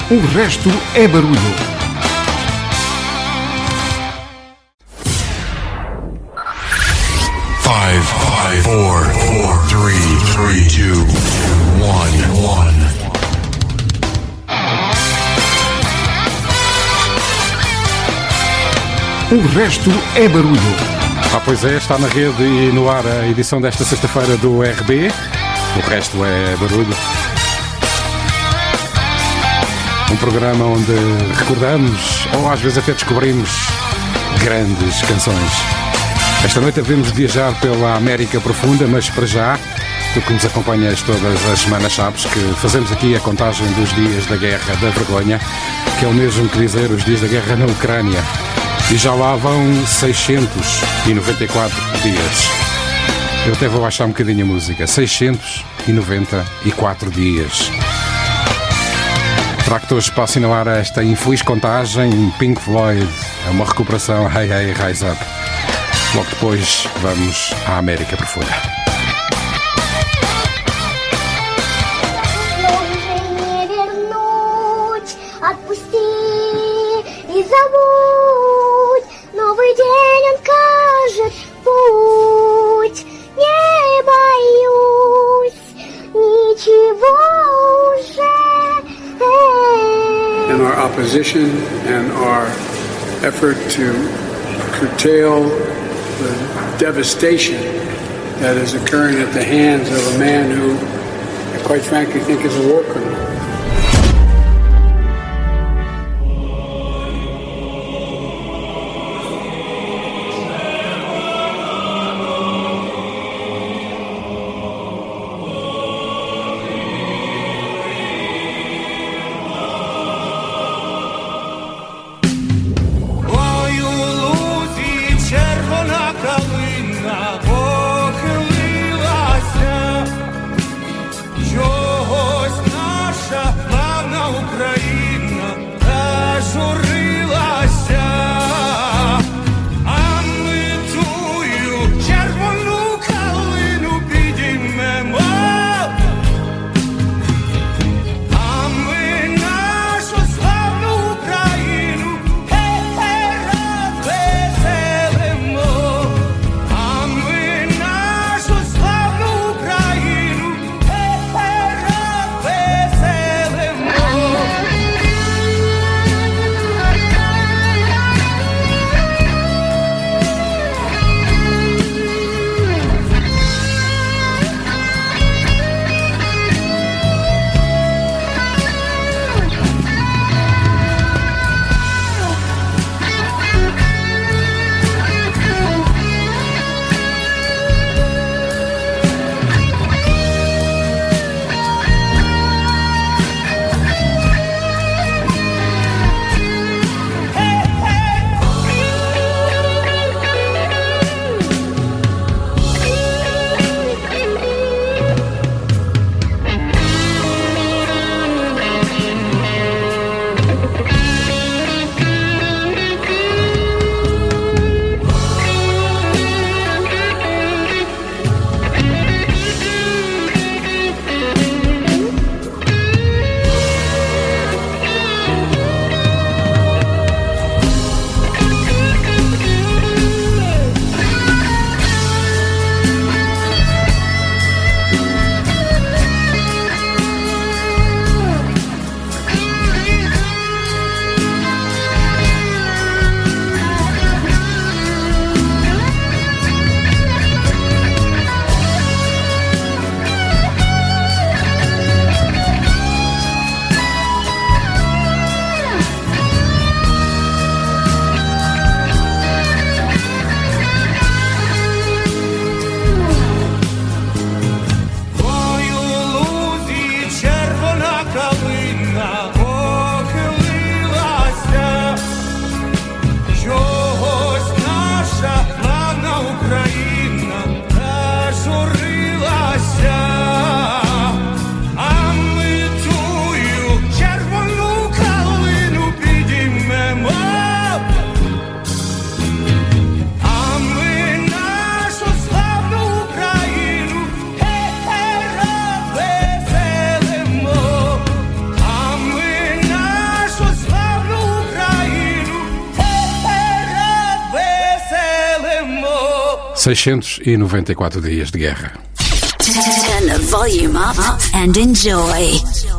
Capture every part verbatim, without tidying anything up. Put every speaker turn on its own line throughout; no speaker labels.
O resto é barulho.
Five, five, four, four, three, three, two, one, one.
O resto é barulho.
Ah, pois é, está na rede e no ar a edição desta sexta-feira do R B. O resto é barulho. Um programa onde recordamos, ou às vezes até descobrimos, grandes canções. Esta noite devemos viajar pela América Profunda, mas para já, tu que nos acompanhas todas as semanas sabes que fazemos aqui a contagem dos dias da Guerra da Vergonha, que é o mesmo que dizer os dias da guerra na Ucrânia. E já lá vão seiscentos e noventa e quatro dias. Eu até vou baixar um bocadinho a música. seiscentos e noventa e quatro dias. Trago-te hoje para assinalar esta infeliz contagem. Pink Floyd, é uma recuperação. Hey, hey, rise up. Logo depois vamos à América Profunda.
Новый день он кажет путь, не боюсь ничего уже.
In our opposition and our effort to curtail the devastation that is occurring at the hands of a man who I quite frankly think is a war criminal.
Чогось наш
seiscentos e noventa e quatro dias de guerra.
Turn the volume up and enjoy.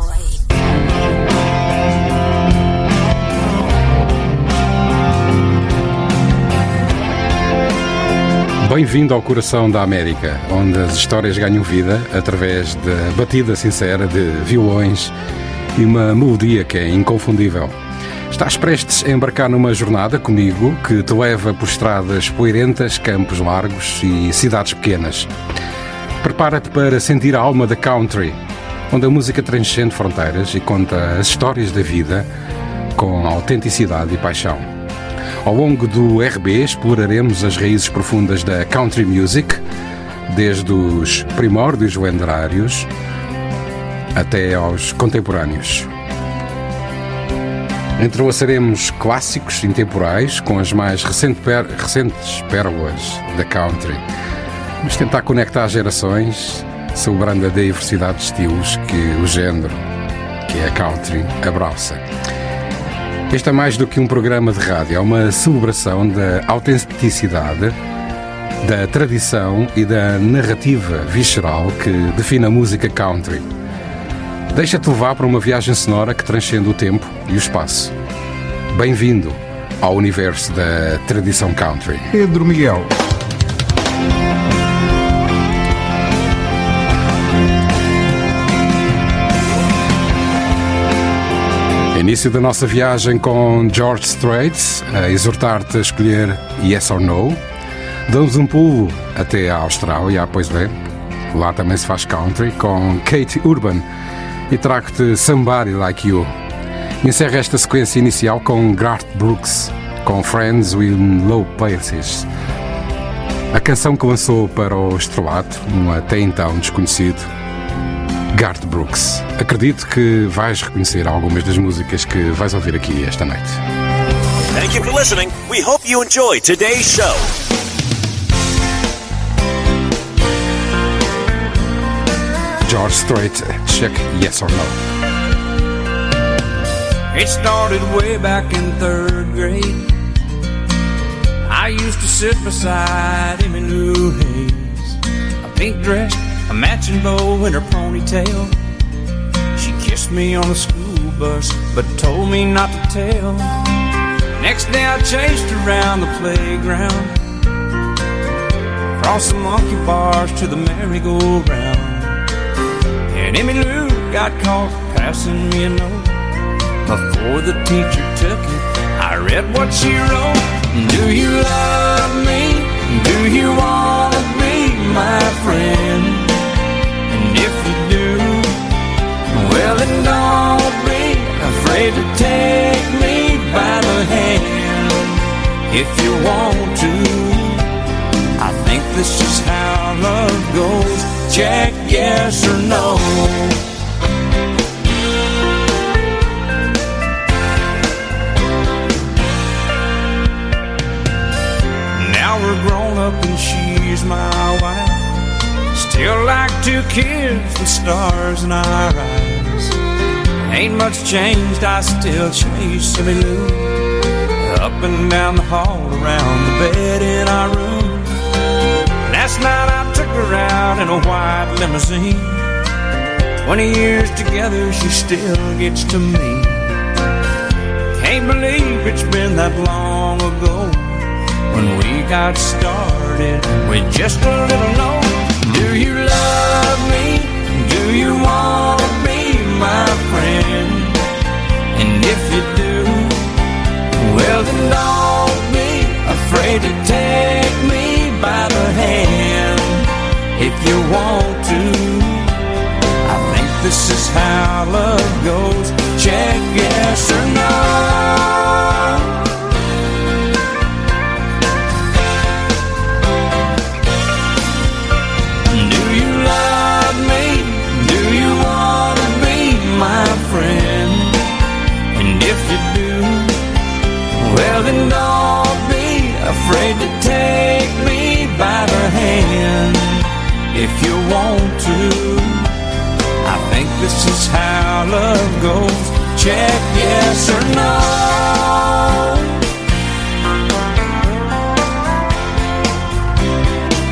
Bem-vindo ao coração da América, onde as histórias ganham vida através da batida sincera de violões e uma melodia que é inconfundível. Estás prestes a embarcar numa jornada comigo que te leva por estradas poeirentas, campos largos e cidades pequenas. Prepara-te para sentir a alma da country, onde a música transcende fronteiras e conta as histórias da vida com autenticidade e paixão. Ao longo do R B exploraremos as raízes profundas da country music, desde os primórdios lendários até aos contemporâneos. Entrelaçaremos clássicos intemporais com as mais recente per- recentes pérolas da country. Vamos tentar conectar gerações, celebrando a diversidade de estilos que o género, que é a country, abraça. Este é mais do que um programa de rádio, é uma celebração da autenticidade, da tradição e da narrativa visceral que define a música country. Deixa-te levar para uma viagem sonora que transcende o tempo e o espaço. Bem-vindo ao universo da tradição country.
Pedro Miguel.
Início da nossa viagem com George Strait, a exortar-te a escolher Yes or No. Damos um pulo até a Austrália, pois bem, lá também se faz country, com Kate Urban, e trago-te Somebody Like You. Encerra esta sequência inicial com Garth Brooks, com Friends in Low Places. A canção que lançou para o estrelato, um até então desconhecido, Garth Brooks. Acredito que vais reconhecer algumas das músicas que vais ouvir aqui esta noite.
Thank you for listening. We hope you enjoyed today's show.
George Strait, check Yes or No.
It started way back in third grade. I used to sit beside Emmylou Hayes, a pink dress, a matching bow in her ponytail. She kissed me on the school bus, but told me not to tell. Next day I chased her around the playground, across the monkey bars to the merry-go-round. And Emmylou got caught passing me a note. Before the teacher took it, I read what she wrote. Do you love me? Do you want to be my friend? And if you do, well then don't be afraid to take me by the hand. If you want to, I think this is how love goes. Check yes or no. Now we're grown up and she's my wife. Still like two kids with stars in our eyes. Ain't much changed, I still chase Emmylou up and down the hall, around the bed in our room. Last night I took her out in a white limousine. Twenty years together, she still gets to me. Can't believe it's been that long ago when we got started with just a little note. Do you love me? Do you want to be my friend? And if you do, well then don't be afraid to take me by the hand. If you want to, I think this is how love goes. Check yes or no. My friend, and if you do, well then don't be afraid to take me by the hand. If you want to, I think this is how love goes. Check yes or no.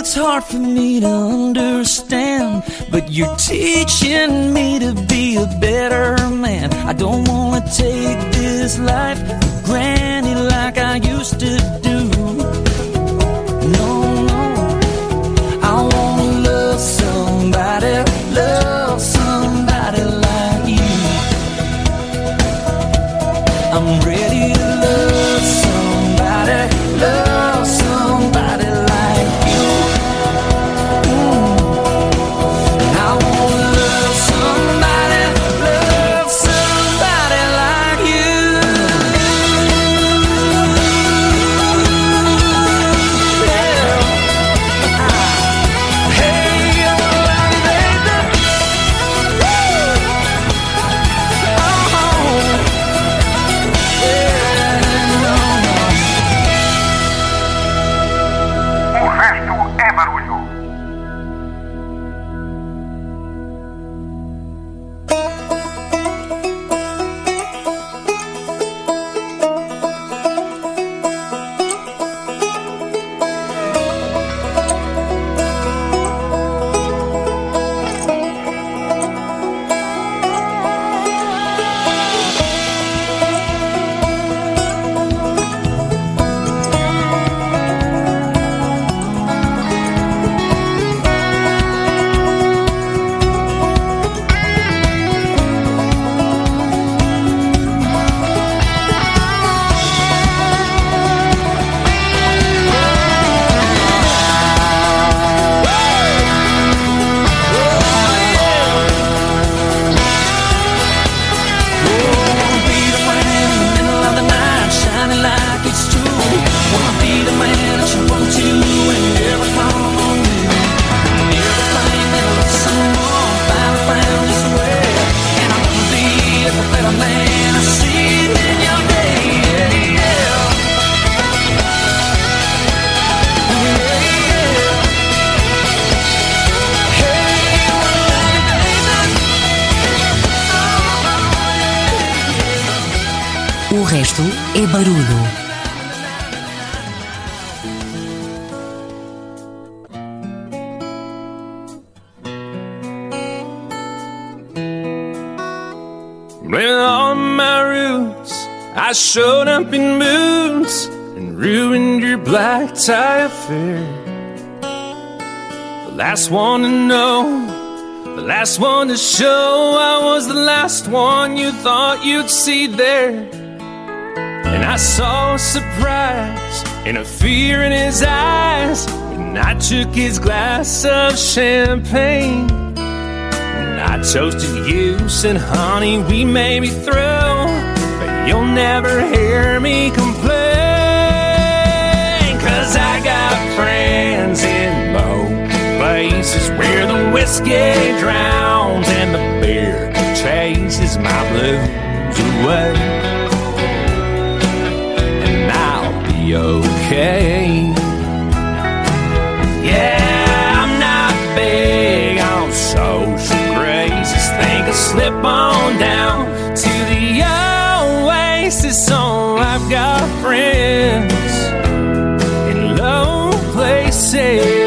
it's hard for me to understand, but you're teaching me to be a better man. I don't wanna take this life for granted like I used to do. No, no, I wanna love somebody, love somebody like you. I'm ready to love somebody, love somebody like you. Mm. I wanna love somebody, love somebody like you. Yeah. Hey, you love me, baby. Oh,
O resto é barulho.
O resto é barulho.
With all my roots, I showed up in boots and ruined your black tie affair. The last one to know, the last one to show, I was the last one you thought you'd see there. And I saw a surprise and a fear in his eyes when I took his glass of champagne. And I toasted you, said, honey, we may be through, but you'll never hear me complain. Cause I got friends in both places where the whiskey drowns and the beer chases my blues away. Okay. Yeah, I'm not big on social graces. Think I'll slip on down to the oasis. So I've got friends in low places.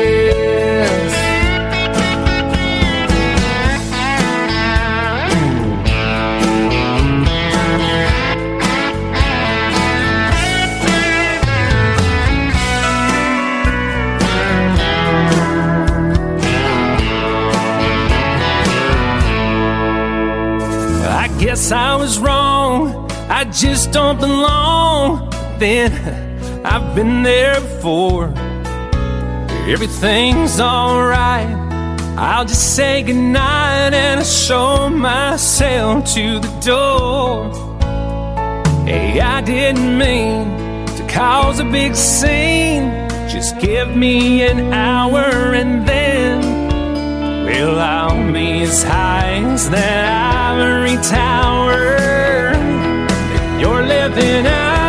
Guess I was wrong, I just don't belong. Then I've been there before. Everything's alright, I'll just say goodnight and I'll show myself to the door. Hey, I didn't mean to cause a big scene. Just give me an hour and then, well, I'll be as high as that ivory tower you're living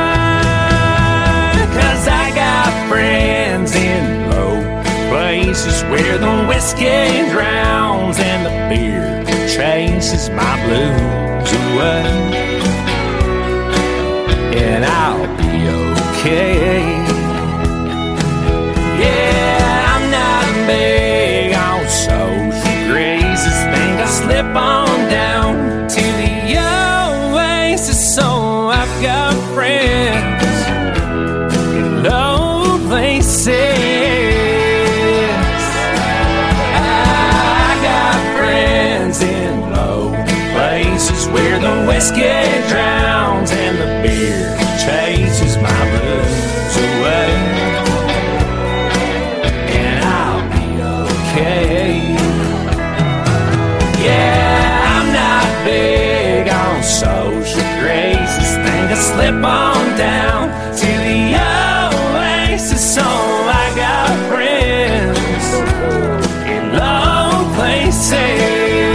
at. Cause I got friends in low places where the whiskey drowns and the beer chases my blues away. And I'll be okay. Yeah, I'm not
whiskey drowns and the beer chases my blues away, and I'll be okay. Yeah, I'm not big on social graces. Think I slip on down to the oasis, so I got friends in low places.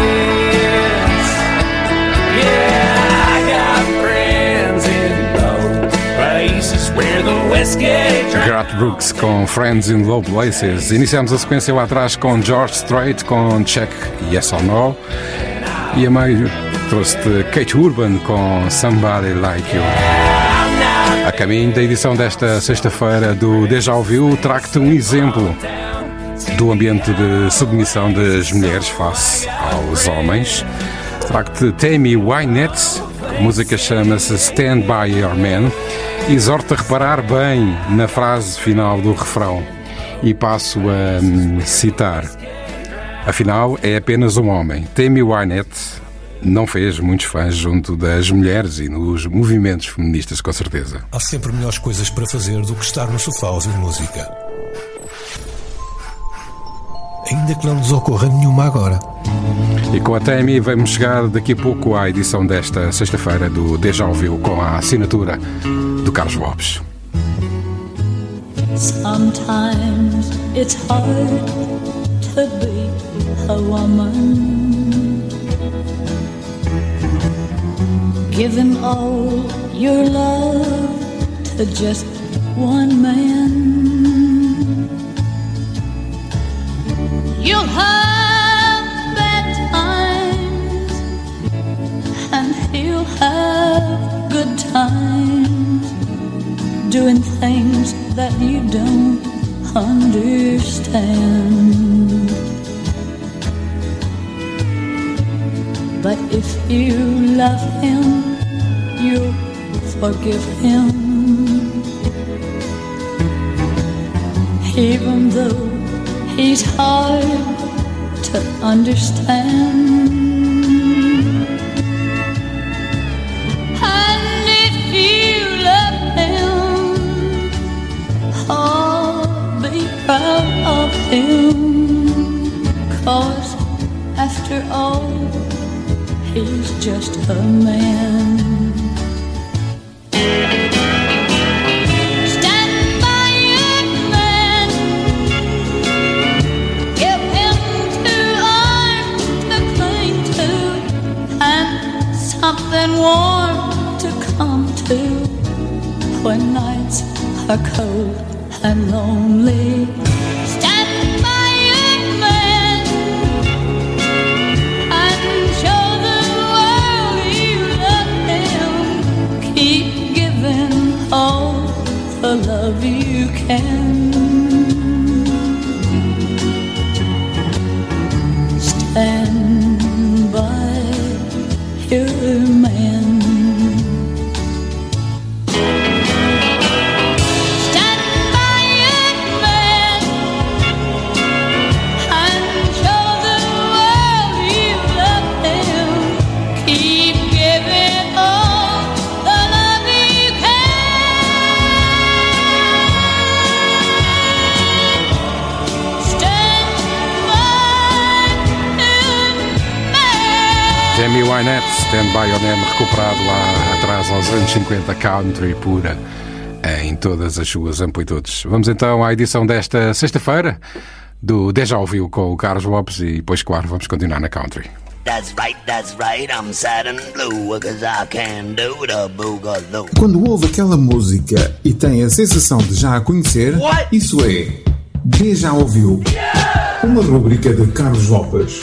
Garth Brooks com Friends in Low Places. Iniciamos a sequência lá atrás com George Strait com Check Yes or No, e a meio trouxe-te Kate Urban com Somebody Like You. A caminho da edição desta sexta-feira do Deja Ouviu, trago-te um exemplo do ambiente de submissão das mulheres face aos homens. Trago-te Tammy Wynette, a música chama-se Stand By Your Man. Exorto a reparar bem na frase final do refrão e passo a hum, citar. Afinal, é apenas um homem. Tammy Wynette não fez muitos fãs junto das mulheres e nos movimentos feministas, com certeza.
Há sempre melhores coisas para fazer do que estar no sofá a ouvir música. Ainda que não nos ocorra nenhuma agora.
E com a Tammy vamos chegar daqui a pouco à edição desta sexta-feira do Deja Ouviu, com a assinatura do Carlos Lopes.
Sometimes it's hard to be a woman. Giving all your love to just one man. You'll have bad times and he'll have good times, doing things that you don't understand. But if you love him, you'll forgive him, even though he's hard to understand. And if you love him, oh, be proud of him, 'cause after all, he's just a man. Something warm to come to when nights are cold and lonely. Stand by your man and show the world you love him. Keep giving all the love you can. Stand by your man. Stand by your man and show the world you love him. Keep giving all the love you can. Stand by your man.
Tammy Wynette, Stand By Your Man, recuperado lá atrás aos anos cinquenta, country pura em todas as suas amplitudes. Vamos então à edição desta sexta-feira do Deja Ouviu com o Carlos Lopes e depois, claro, vamos continuar na country.
That's right, that's right, I'm sad and blue, 'cause I can do the boogaloo.
Quando ouve aquela música e tem a sensação de já a conhecer, What? Isso é Deja Ouviu, yeah! Uma rubrica de Carlos Lopes.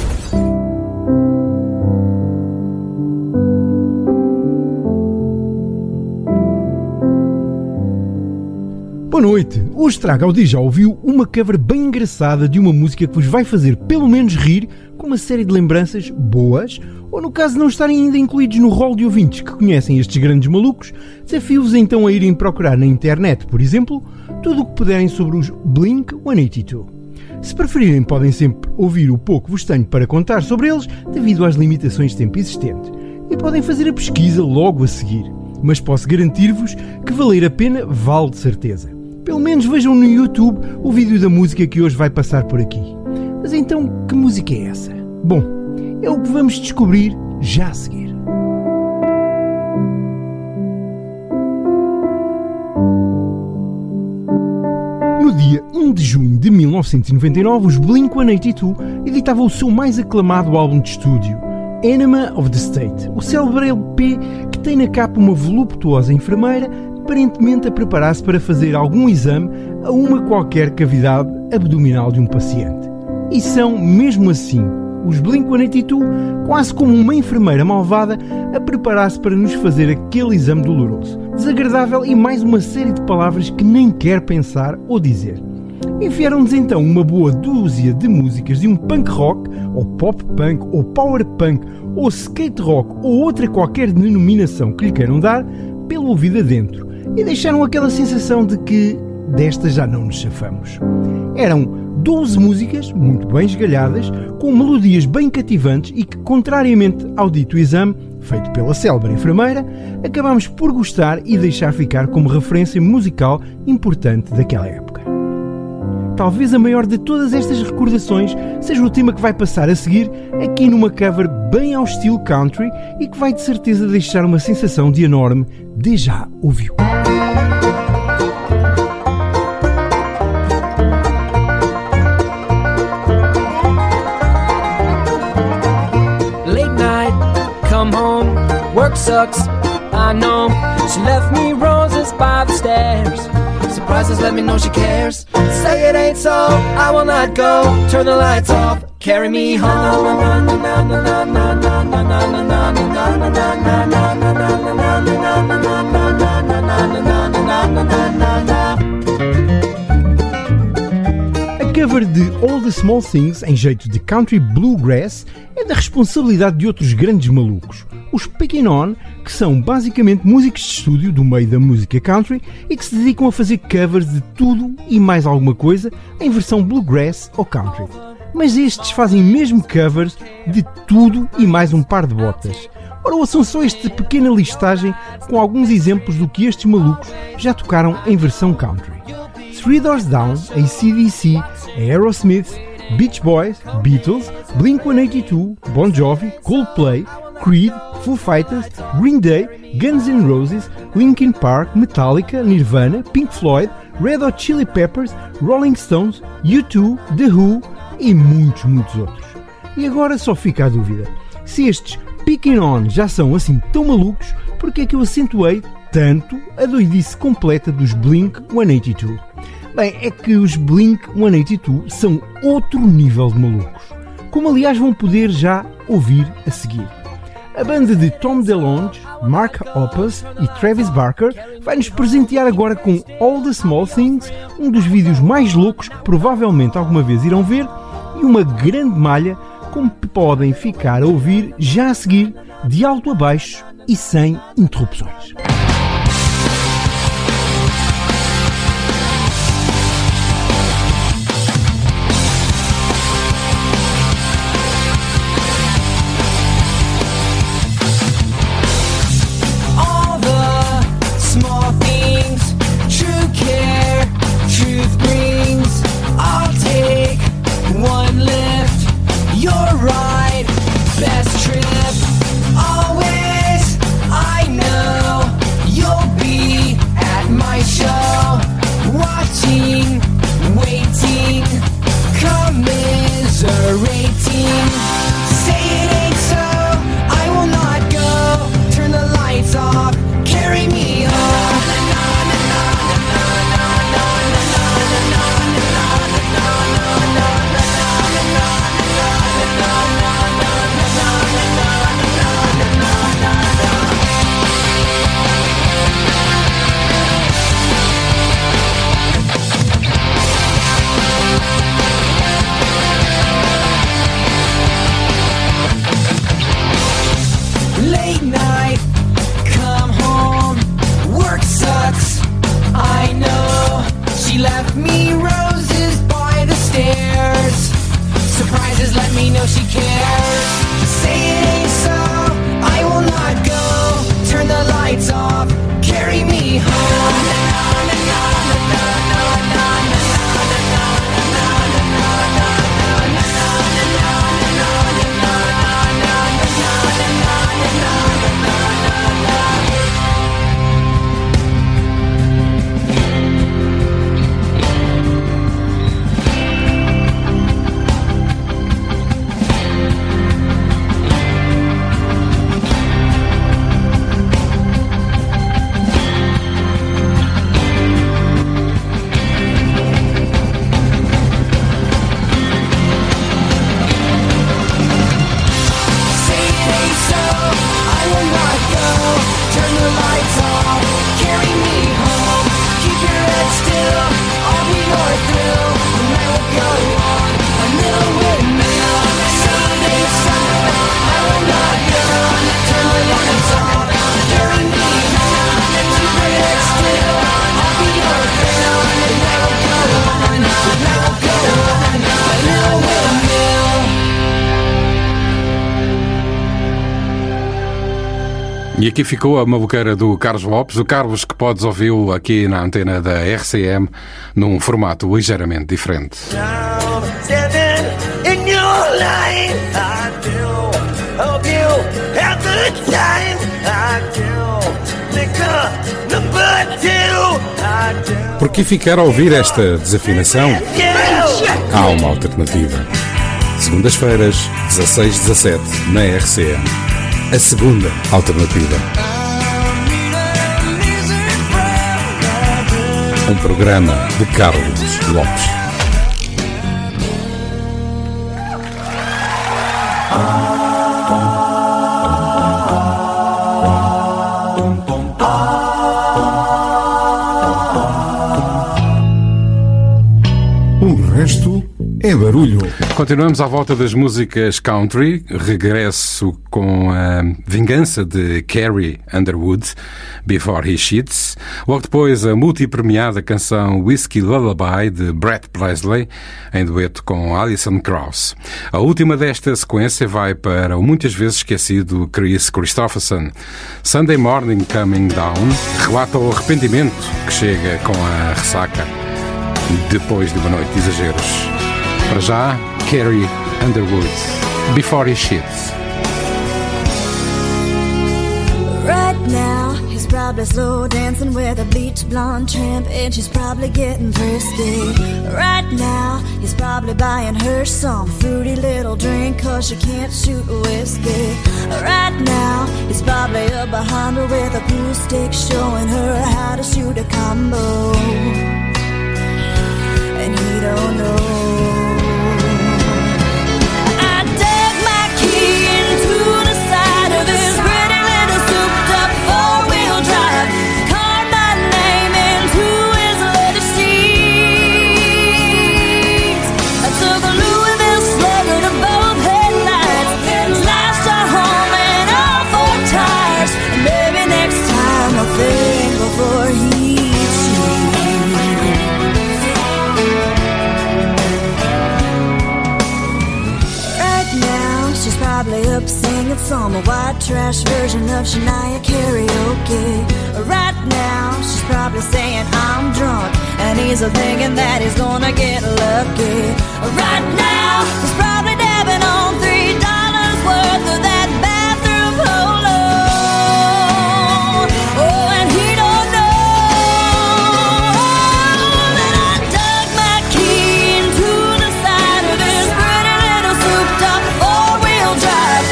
Boa noite! Hoje trago ao Deja Ouviu uma cover bem engraçada de uma música que vos vai fazer pelo menos rir, com uma série de lembranças boas, ou no caso de não estarem ainda incluídos no rol de ouvintes que conhecem estes grandes malucos, desafio-vos então a irem procurar na internet, por exemplo, tudo o que puderem sobre os Blink cento e oitenta e dois. Se preferirem, podem sempre ouvir o pouco que vos tenho para contar sobre eles, devido às limitações de tempo existentes. e podem fazer a pesquisa logo a seguir. Mas posso garantir-vos que valer a pena vale de certeza. Pelo menos vejam no YouTube o vídeo da música que hoje vai passar por aqui. Mas então, que música é essa? Bom, é o que vamos descobrir já a seguir. No dia um de junho de mil novecentos e noventa e nove, os Blink cento e oitenta e dois editavam o seu mais aclamado álbum de estúdio, Enema of the State, o célebre L P que tem na capa uma voluptuosa enfermeira aparentemente a preparar-se para fazer algum exame a uma qualquer cavidade abdominal de um paciente. E são, mesmo assim, os Blink cento e oitenta e dois quase como uma enfermeira malvada a preparar-se para nos fazer aquele exame doloroso, desagradável e mais uma série de palavras que nem quer pensar ou dizer. Enfiaram-nos então uma boa dúzia de músicas de um punk rock, ou pop punk, ou power punk, ou skate rock, ou outra qualquer denominação que lhe queiram dar, pelo ouvido adentro, e deixaram aquela sensação de que desta já não nos chafamos. Eram doze músicas, muito bem esgalhadas, com melodias bem cativantes e que, contrariamente ao dito exame, feito pela célebre enfermeira, acabámos por gostar e deixar ficar como referência musical importante daquela época. Talvez a maior de todas estas recordações seja o tema que vai passar a seguir aqui numa cover bem ao estilo country e que vai de certeza deixar uma sensação de enorme déjà ouviu.
Late night, come home, work sucks, I know. She left me roses by the stairs. Surprises let me know she cares. Say it ain't so, I will not go. Turn the lights off, carry me home.
A cover de All the Small Things, em jeito de country bluegrass, é da responsabilidade de outros grandes malucos, os Pickin' On, que são basicamente músicos de estúdio do meio da música country e que se dedicam a fazer covers de tudo e mais alguma coisa em versão bluegrass ou country. Mas estes fazem mesmo covers de tudo e mais um par de botas. Ora, ouçam só esta pequena listagem com alguns exemplos do que estes malucos já tocaram em versão country. Three Doors Down, A C D C, Aerosmith, Beach Boys, Beatles, Blink cento e oitenta e dois, Bon Jovi, Coldplay, Creed, Foo Fighters, Green Day, Guns N' Roses, Linkin Park, Metallica, Nirvana, Pink Floyd, Red Hot Chili Peppers, Rolling Stones, U dois, The Who e muitos, muitos outros. E agora só fica a dúvida, se estes Pickin' On já são assim tão malucos, porque é que eu acentuei tanto a doidice completa dos Blink cento e oitenta e dois? Bem, é que os Blink cento e oitenta e dois são outro nível de malucos, como aliás vão poder já ouvir a seguir. A banda de Tom DeLonge, Mark Hoppus e Travis Barker vai nos presentear agora com All the Small Things, um dos vídeos mais loucos que provavelmente alguma vez irão ver, e uma grande malha como podem ficar a ouvir já a seguir, de alto a baixo e sem interrupções.
Best trip, always, I know.
E aqui ficou a maluqueira do Carlos Lopes, o Carlos que podes ouvi-lo aqui na antena da R C M num formato ligeiramente diferente. Por que ficar a ouvir esta desafinação? Há uma alternativa. Segundas-feiras, dezasseis e dezassete, na R C M. A segunda alternativa. Um programa de Carlos Lopes.
O resto é barulho.
Continuamos à volta das músicas country. Regresso com a Vingança de Carrie Underwood, Before He Cheats. Logo depois a multipremiada canção Whiskey Lullaby de Brett Paisley, em dueto com Alison Krauss. A última desta sequência vai para o muitas vezes esquecido Chris Christopherson. Sunday Morning Coming Down relata o arrependimento que chega com a ressaca depois de uma noite de exageros. Para já, Carrie Underwood, Before He Cheats.
Right now, he's probably slow dancing with a bleach blonde tramp, and she's probably getting frisky. Right now, he's probably buying her some fruity little drink, cause she can't shoot whiskey. Right now, he's probably up behind her with a pool stick, showing her how to shoot a combo. And he don't know. Singing some white trash version of Shania karaoke. Right now, she's probably saying I'm drunk, and he's thinking that he's gonna get lucky. Right now, he's probably dabbing on three dollars worth of that bathroom polo. Oh, and he don't know that I dug my key into the side of his pretty little souped-up four-wheel drive.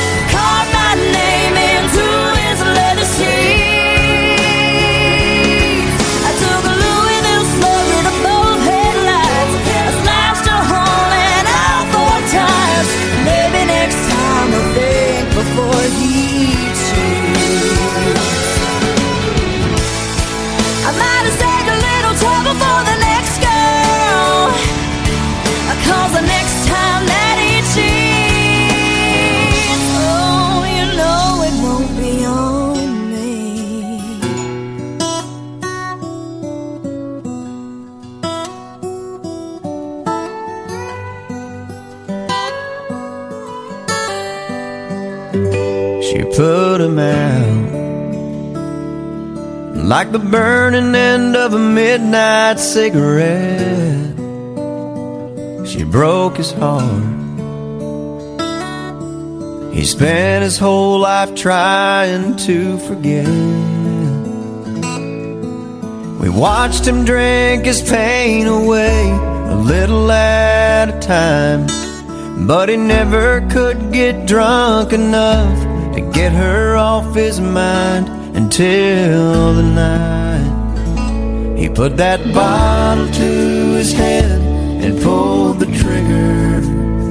Before he cheats, I might have saved a little trouble for the next girl, cause the next time that he cheats, oh, you know it won't be on me.
She put him out like the burning end of a midnight cigarette. She broke his heart. He spent his whole life trying to forget. We watched him drink his pain away, a little at a time, but he never could get drunk enough to get her off his mind until the night he put that bottle to his head and pulled the trigger,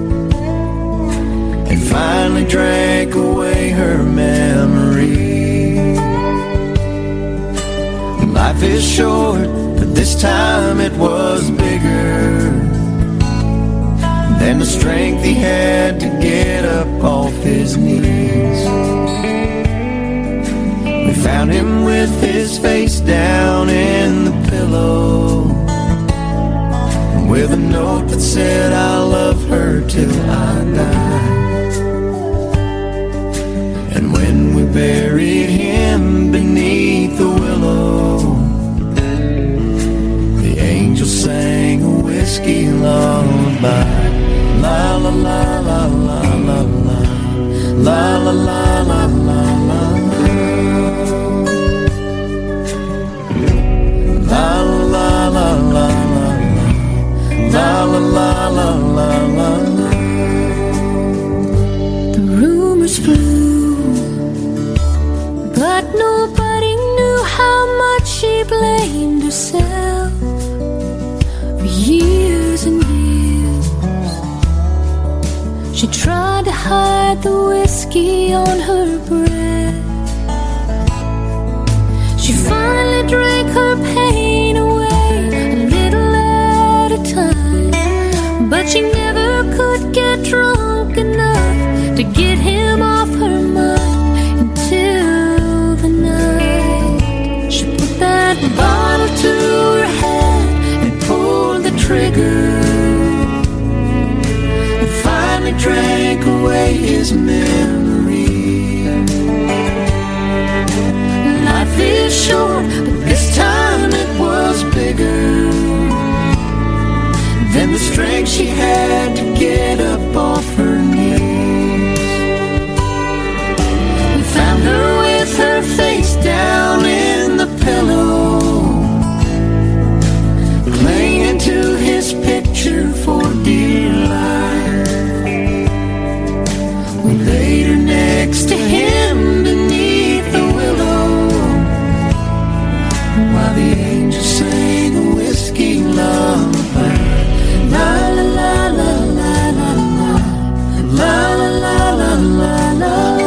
and finally drank away her memory. Life is short, but this time it was bigger than the strength he had to get up off his knees. We found him with his face down in the pillow, with a note that said, I love her till I die. And when we buried him beneath the willow. The angel sang a whiskey lullaby. La la la la la la la. La la la la la la. La la la la la. La la la la la la.
The rumors flew, but nobody knew how much she blamed herself for years and years. She tried to hide the whiskey on her breath. She finally drank her pain away a little at a time, but she never could get drunk enough to get him off her mind until the night she put that bottle to her head and pulled the trigger and finally drank away his memory. Life is short, but this time it was bigger than the strength she had to get up off her knees. We found her with her face down in the pillow, clinging to his picture for dear life. We laid her next to him beneath the willow, while the angel sang a whiskey lullaby. La la la la la la la. La la la la la la.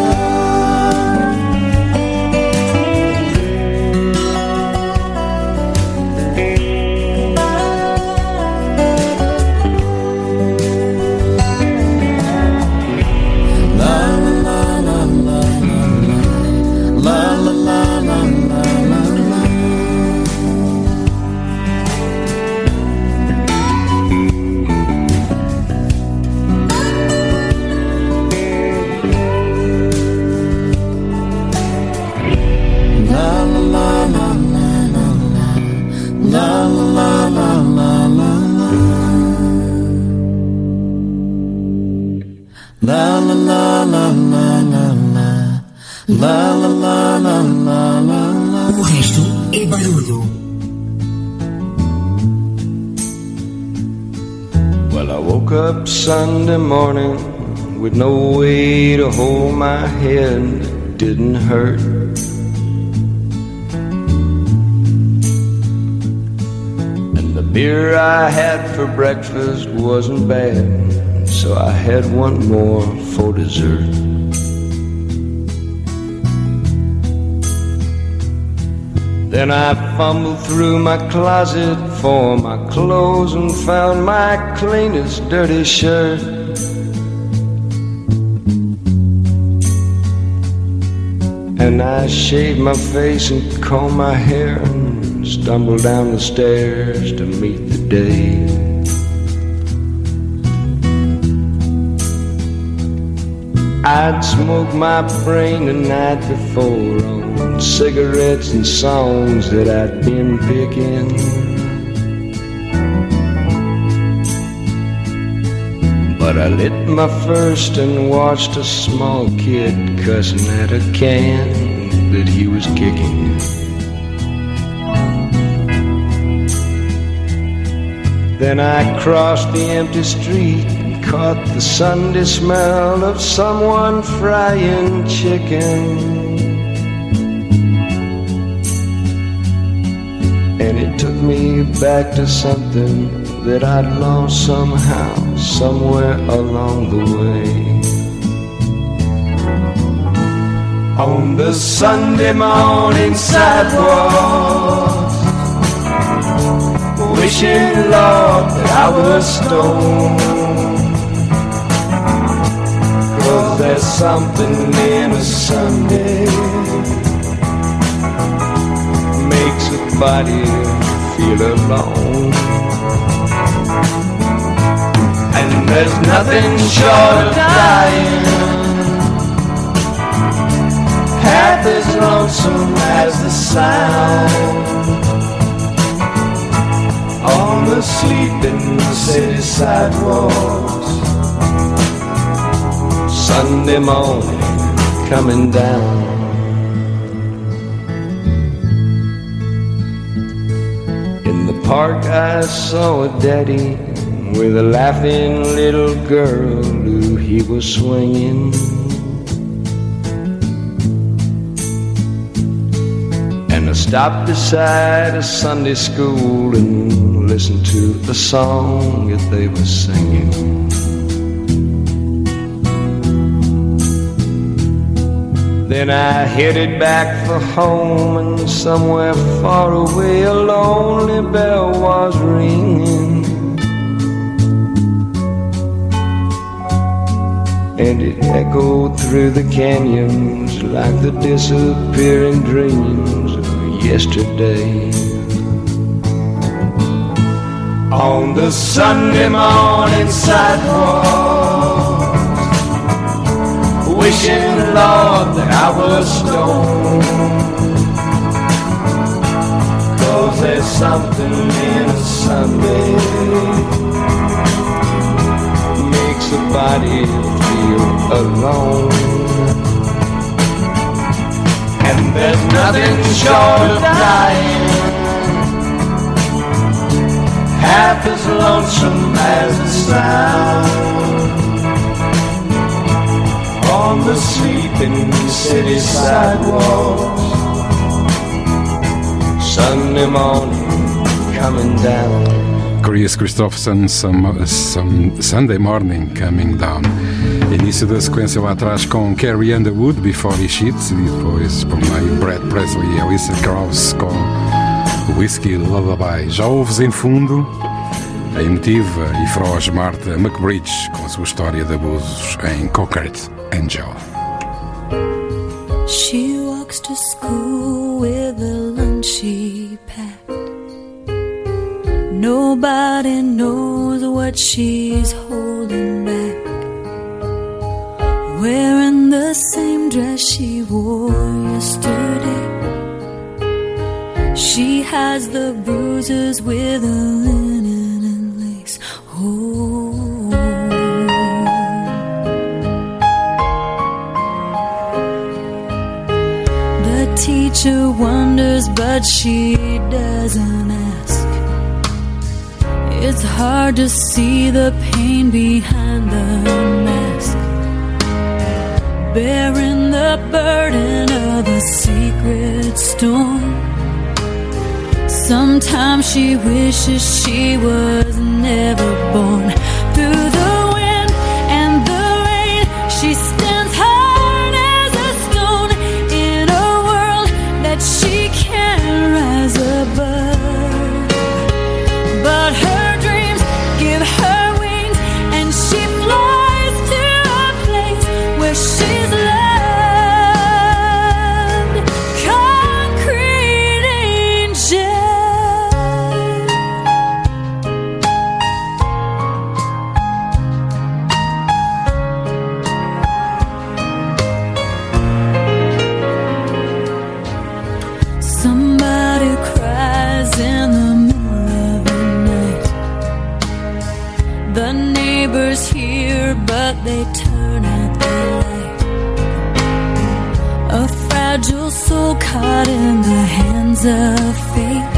O resto é barulho.
Well, I woke up Sunday morning with no way to hold my head. It didn't hurt. And the beer I had for breakfast wasn't bad, so I had one more for dessert. Then I fumbled through my closet for my clothes and found my cleanest dirty shirt. And I shaved my face and combed my hair and stumbled down the stairs to meet the day. I'd smoked my brain the night before on cigarettes and songs that I'd been picking. But I lit my first and watched a small kid cussing at a can that he was kicking. Then I crossed the empty street, caught the Sunday smell of someone frying chicken. And it took me back to something that I'd lost somehow, somewhere along the way. On the Sunday morning sidewalk, wishing, Lord, that I was stoned. 'Cause there's something in a Sunday makes a body feel alone. And there's nothing short of dying
lonesome as the sound on the sleeping city sidewalks. Sunday morning coming down. In the park I saw a daddy with a laughing little girl who he was swinging. And I stopped beside a Sunday school and listened to the song that they were singing. Then I headed back for home, and somewhere far away a lonely bell was ringing. And it echoed through the canyons like the disappearing dreams of yesterday. On the Sunday morning sidewalk, wishing, Lord, that I was stoned. 'Cause there's something in a Sunday makes a body feel alone. And there's nothing short of dying half as lonesome as the sound on the sleeping city sidewalks. Sunday morning coming down.
Chris Christopherson, some, some Sunday Morning Coming Down. Início da sequência lá atrás com Carrie Underwood, Before He Cheats, e depois por meio Brad Presley e Alicia Krauss com Whiskey Lullaby. Já ouves em fundo a emotiva e feroz Martha McBridge com a sua história de abusos em Cockert Angel.
She walks to school with a lunch she packed. Nobody knows what she's holding back. Wearing the same dress she wore yesterday. She has the bruises with a linen and lace. Oh, the teacher wonders, but she doesn't ask. It's hard to see the pain behind the mask, bearing the burden of a secret storm. Sometimes she wishes she was never born. Through the wind and the rain, she stands hard as a stone in a world that she can't rise above. But her dreams give her wings, and she flies to a place where she's loved. Concrete angel. Somebody cries in the middle of the night. The neighbors hear, but they turn out the light. A fragile soul caught in the hands of fate.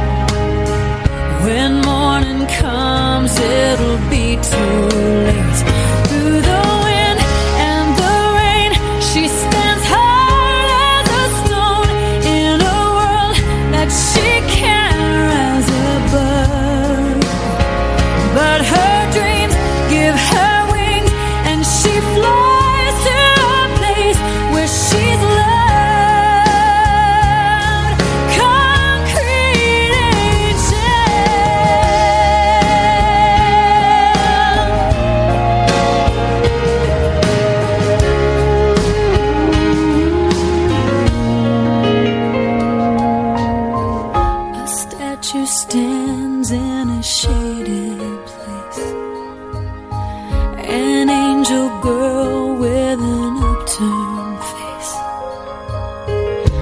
When morning comes, it'll be too late. Through the wind and the rain, she stands hard as a stone in a world that she can't rise above. But her dreams give her wings, and she flies to a place where she's loved. Concrete angel. A statue stands in a shaded place. An angel girl with an upturned face.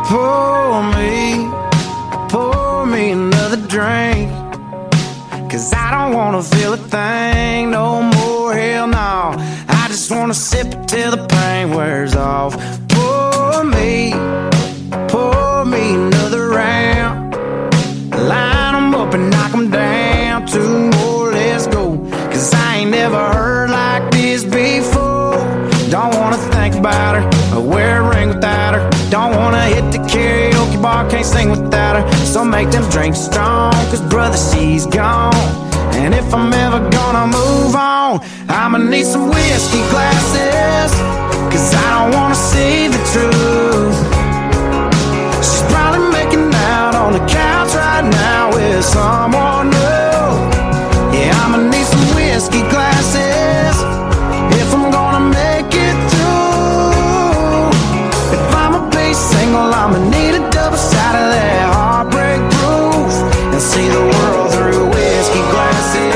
pour me, pour me another drink. Cause I don't wanna feel a thing no more, hell no. I just wanna sip it till the pain wears off. Pour me, pour me another round. Line 'em up and knock 'em down. Two more, let's go. Cause I ain't never heard like this before. Don't wanna think about her, or wear a ring without her. Don't wanna hit the karaoke bar, can't sing without her. So make them drinks strong, cause brother, she's gone. And if I'm ever gonna move on, I'ma need some whiskey glasses. Cause I don't wanna see the truth. She's probably making out on the couch right now with someone new. Yeah, I'ma need some whiskey glasses if I'm gonna make it through. If I'ma be single, I'ma need a double shot of that heartbreak proof. And see the world through whiskey glasses.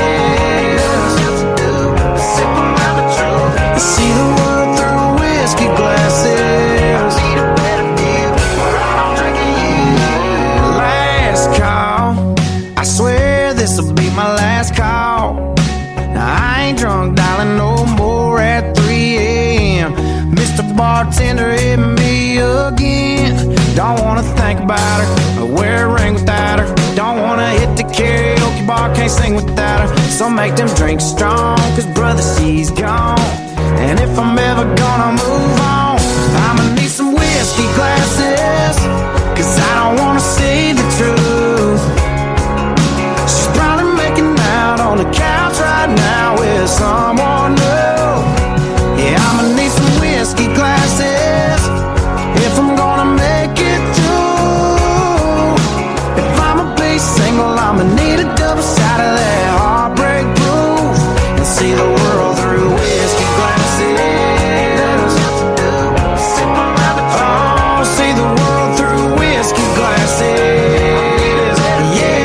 See the world through whiskey glasses. I need a better view. I'm drinking you. Last call, I swear this'll be my last call. Now I ain't drunk, darling, no more at three a.m. Mister Bartender hit me again. Don't wanna think about her, or wear a ring without her. Don't wanna hit the karaoke bar, can't sing without her. So make them drinks strong, cause brother, she's gone. And if I'm ever gonna move on, I'ma need some whiskey glasses. Cause I don't wanna see the truth. She's probably making out on the couch right now with someone new. Yeah, I'ma need some whiskey glasses if I'm gonna make it through. If I'ma be single, I'ma need a double shot of that heartbreak proof. And see the world through whiskey glasses. Oh, see the world through whiskey glasses. Yeah.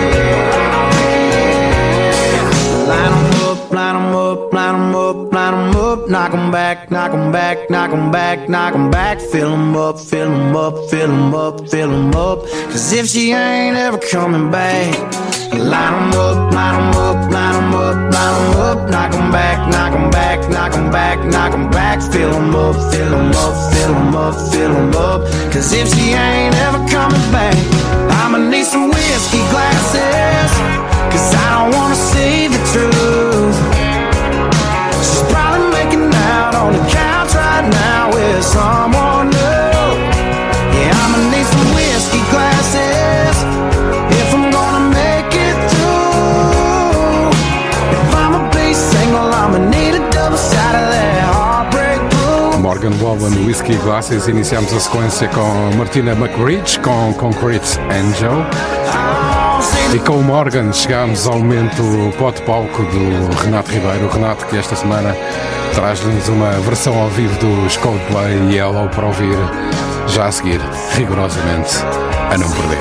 Line 'em up, line 'em up, line 'em up, line 'em up. Knock 'em back, knock 'em back, knock 'em back, knock 'em back. Fill 'em up, fill 'em up, fill 'em up, fill 'em up. Cause if she ain't ever coming back, line 'em up, line 'em up, line 'em up, line 'em up. Knock 'em back, knock 'em back, knock 'em back, knock 'em back. Fill 'em up, fill 'em up, fill 'em up, fill 'em up. Cause if she ain't ever coming back, I'ma need some whiskey glasses. Cause I don't wanna see the truth. She's probably making out on the couch right now with someone new. Yeah, I'ma need some whiskey glasses if I'm gonna make it through. If I'ma be single, I'ma need a double shot of that heartbreak proof.
Morgan Wallen, Whiskey Glasses. Iniciamos a sequência com Martina McRitch, com Concrete Angel. E com o Morgan chegamos ao momento pó-de-palco do Renato Ribeiro. O Renato, que esta semana traz-nos uma versão ao vivo dos Coldplay e Yellow para ouvir já a seguir, rigorosamente, a não perder.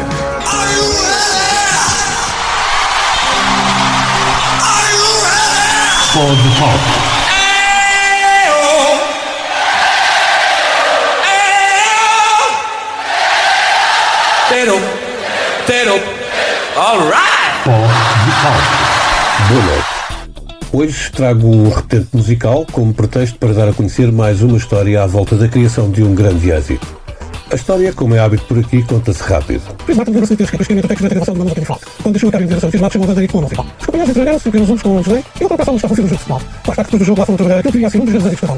Pó-de-palco.
Tero, tero, all right!
Boa noite. Hoje trago um repetente musical como pretexto para dar a conhecer mais uma história à volta da criação de um grande êxito. A história, como é hábito por aqui, conta-se rápido. Chris Martin lembra-se de ter escrito a textos da gravação de uma nota de falta. Quando deixou a cabine de gravação, fez uma chamada de ritmo musical. Os companheiros entregaram-se pelos uns com o José e outra passava a fazer o jogo de futebol. Mais tarde, depois do jogo, lá foram trabalhar aquilo que devia ser um dos grandes êxitos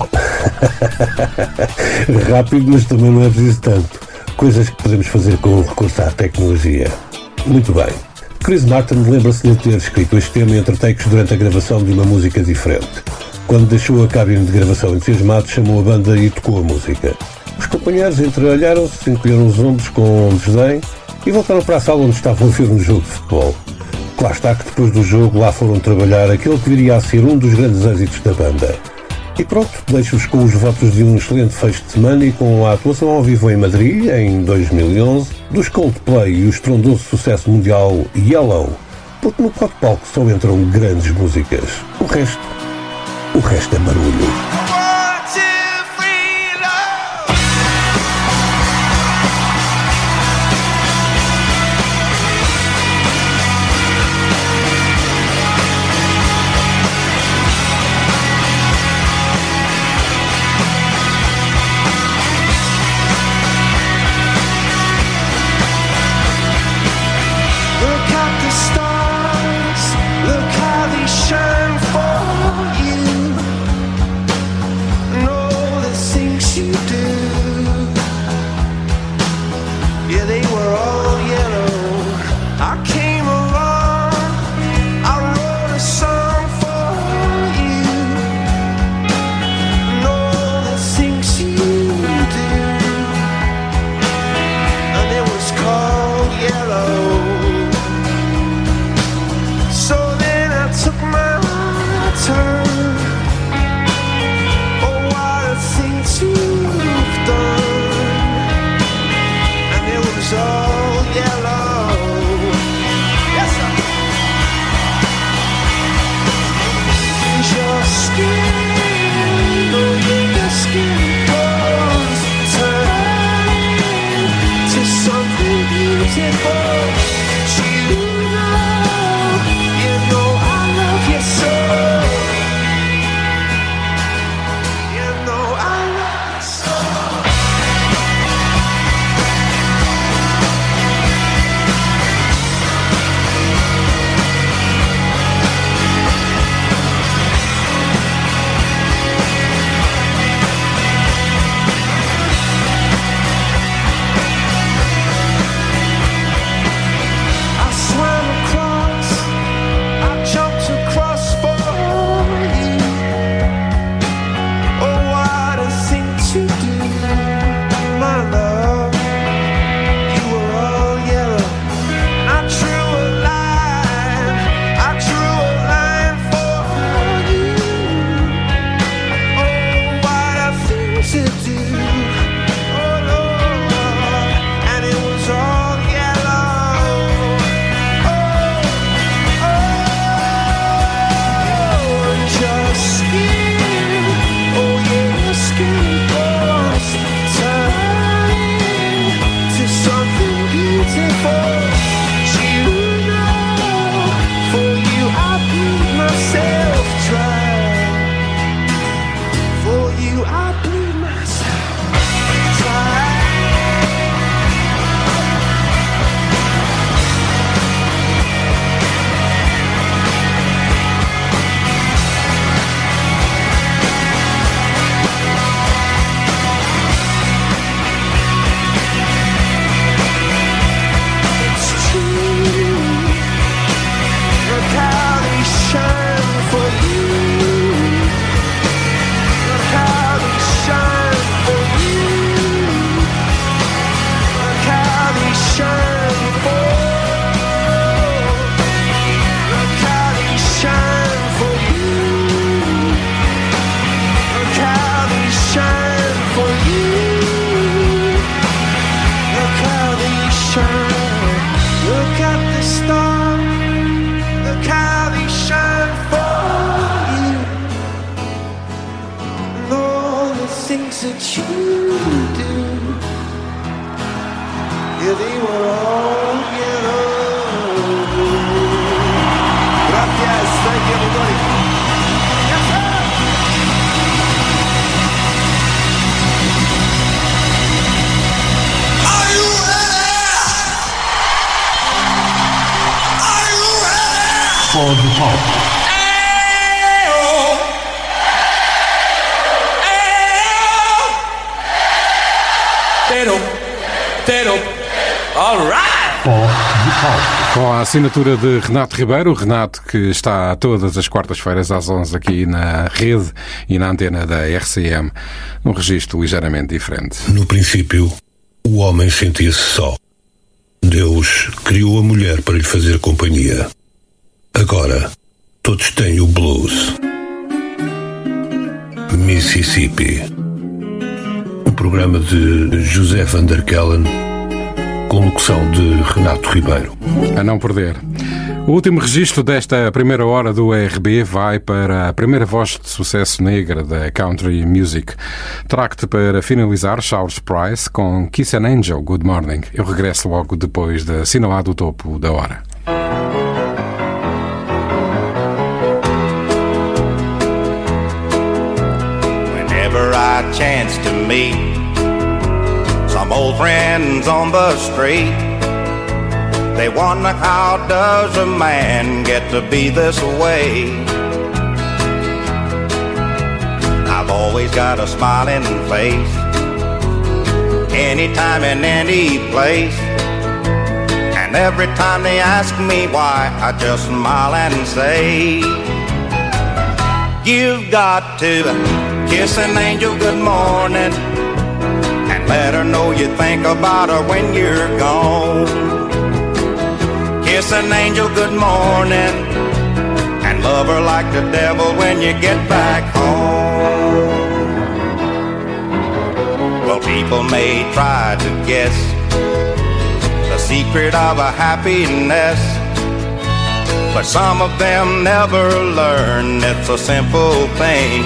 da banda. Rápido, mas também não é preciso tanto. Coisas que podemos fazer com o recurso à tecnologia. Muito bem. Chris Martin lembra-se de ter escrito este tema entre takes durante a gravação de uma música diferente. Quando deixou a cabine de gravação entusiasmado, chamou a banda e tocou a música. Os companheiros entreolharam-se, encolheram os ombros com desdém e voltaram para a sala onde estavam a ver um jogo de futebol. Claro está que depois do jogo lá foram trabalhar aquele que viria a ser um dos grandes êxitos da banda. E pronto, deixo-vos com os votos de um excelente fecho de semana e com a atuação ao vivo em Madrid, em dois mil e onze, dos Coldplay e o estrondoso sucesso mundial Yellow, porque no pó-de-palco só entram grandes músicas. O resto, o resto é barulho.
Com a assinatura de Renato Ribeiro, o Renato que está todas as quartas-feiras às onze aqui na rede e na antena da R C M, num registro ligeiramente diferente.
No princípio, o homem sentia-se só. Deus criou a mulher para lhe fazer companhia. Agora, todos têm o blues. Mississippi. Um programa de José Van der Kellen, com locução de Renato Ribeiro.
A não perder. O último registro desta primeira hora do R B vai para a primeira voz de sucesso negra da country music. Trago-te para finalizar Charles Price com Kiss an Angel, Good Morning. Eu regresso logo depois de assinalado o topo da hora.
Whenever I chance to meet some old friends on the street, they wonder how does a man get to be this way. I've always got a smiling face, anytime and any place, and every time they ask me why, I just smile and say, you've got to kiss an angel good morning and let her know you think about her when you're gone. Kiss an angel good morning and love her like the devil when you get back home. Well, people may try to guess the secret of a happiness, but some of them never learn it's a simple thing.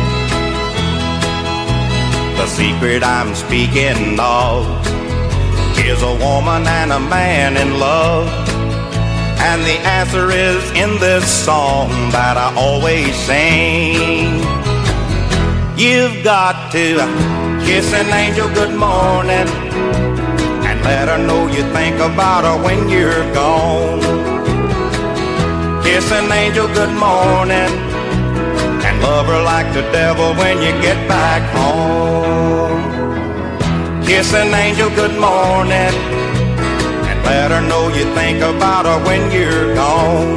The secret I'm speaking of Is a woman and a man in love? And the answer is in this song that I always sing. You've got to kiss an angel good morning and let her know you think about her when you're gone. Kiss an angel good morning and love her like the devil when you get back home. Kiss an angel good morning and let her know you think about her when you're gone.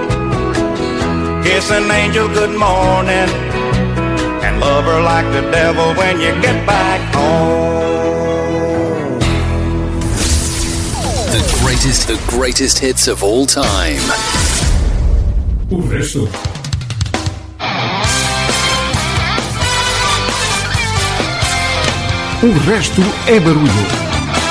Kiss an angel good morning and love her like the devil when you get back home.
The greatest, the greatest hits of all time.
O resto. O resto é barulho.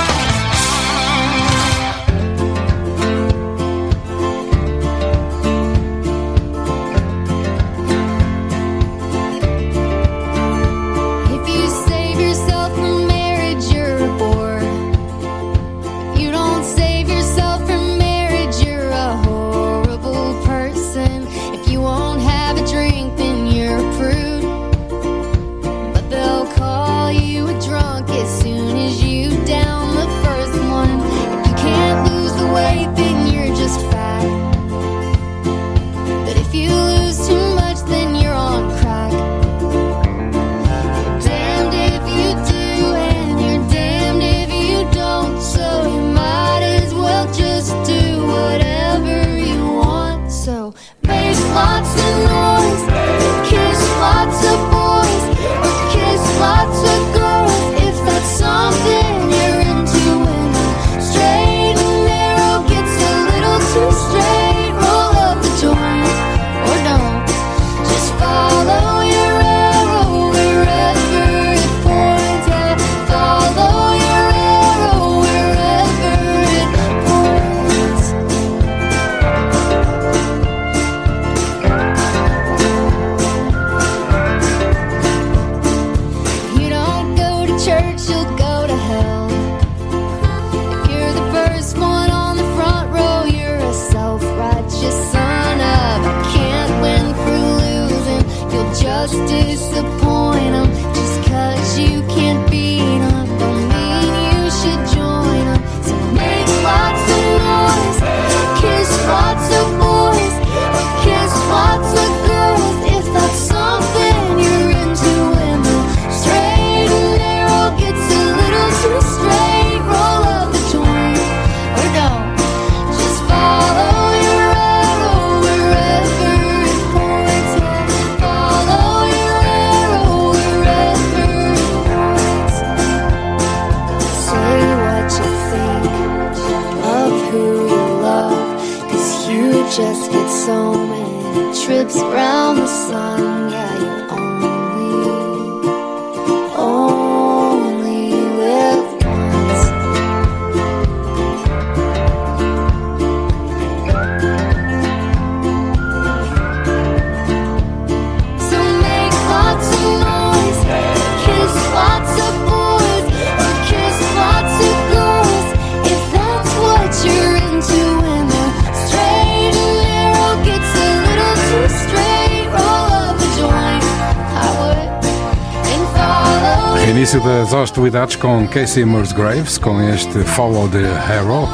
Início das hostilidades com Casey Musgraves, com este Follow the Hero.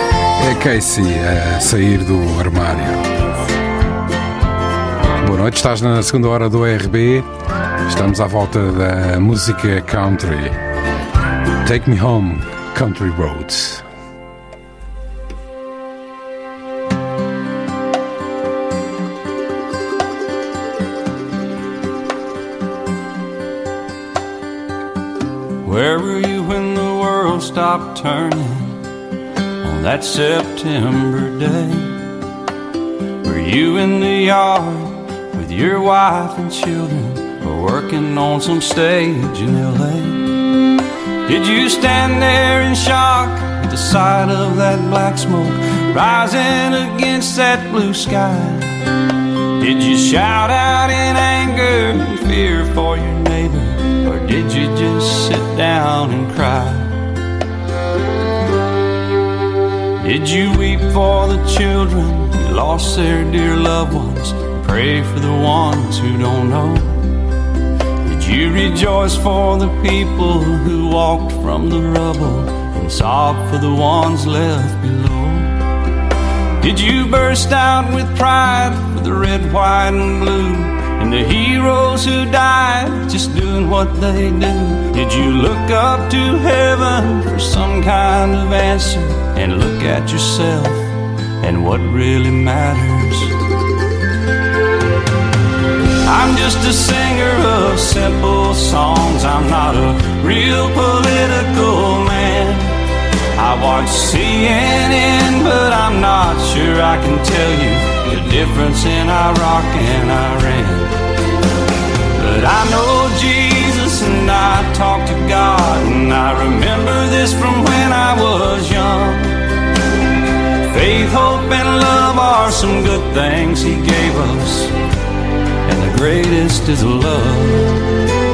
É Casey a sair do armário. Boa noite, estás na segunda hora do R B. Estamos à volta da música country. Take Me Home, Country Roads.
Where were you when the world stopped turning on that September day? Were you in the yard with your wife and children, or working on some stage in L A? Did you stand there in shock at the sight of that black smoke rising against that blue sky? Did you shout out in anger and fear for your neighbor? Or did you just sit down and cry? Did you weep for the children who lost their dear loved ones? Pray for the ones who don't know. Did you rejoice for the people who walked from the rubble and sob for the ones left below? Did you burst out with pride for the red, white, and blue, and the heroes who died just doing what they do? Did you look up to heaven for some kind of answer and look at yourself and what really matters? I'm just a singer of simple songs. I'm not a real political man. I watch C N N, but I'm not sure I can tell you the difference in Iraq and Iran. But I know Jesus and I talk to God, and I remember this from when I was young. Faith, hope, and love are some good things He gave us, and the greatest is love.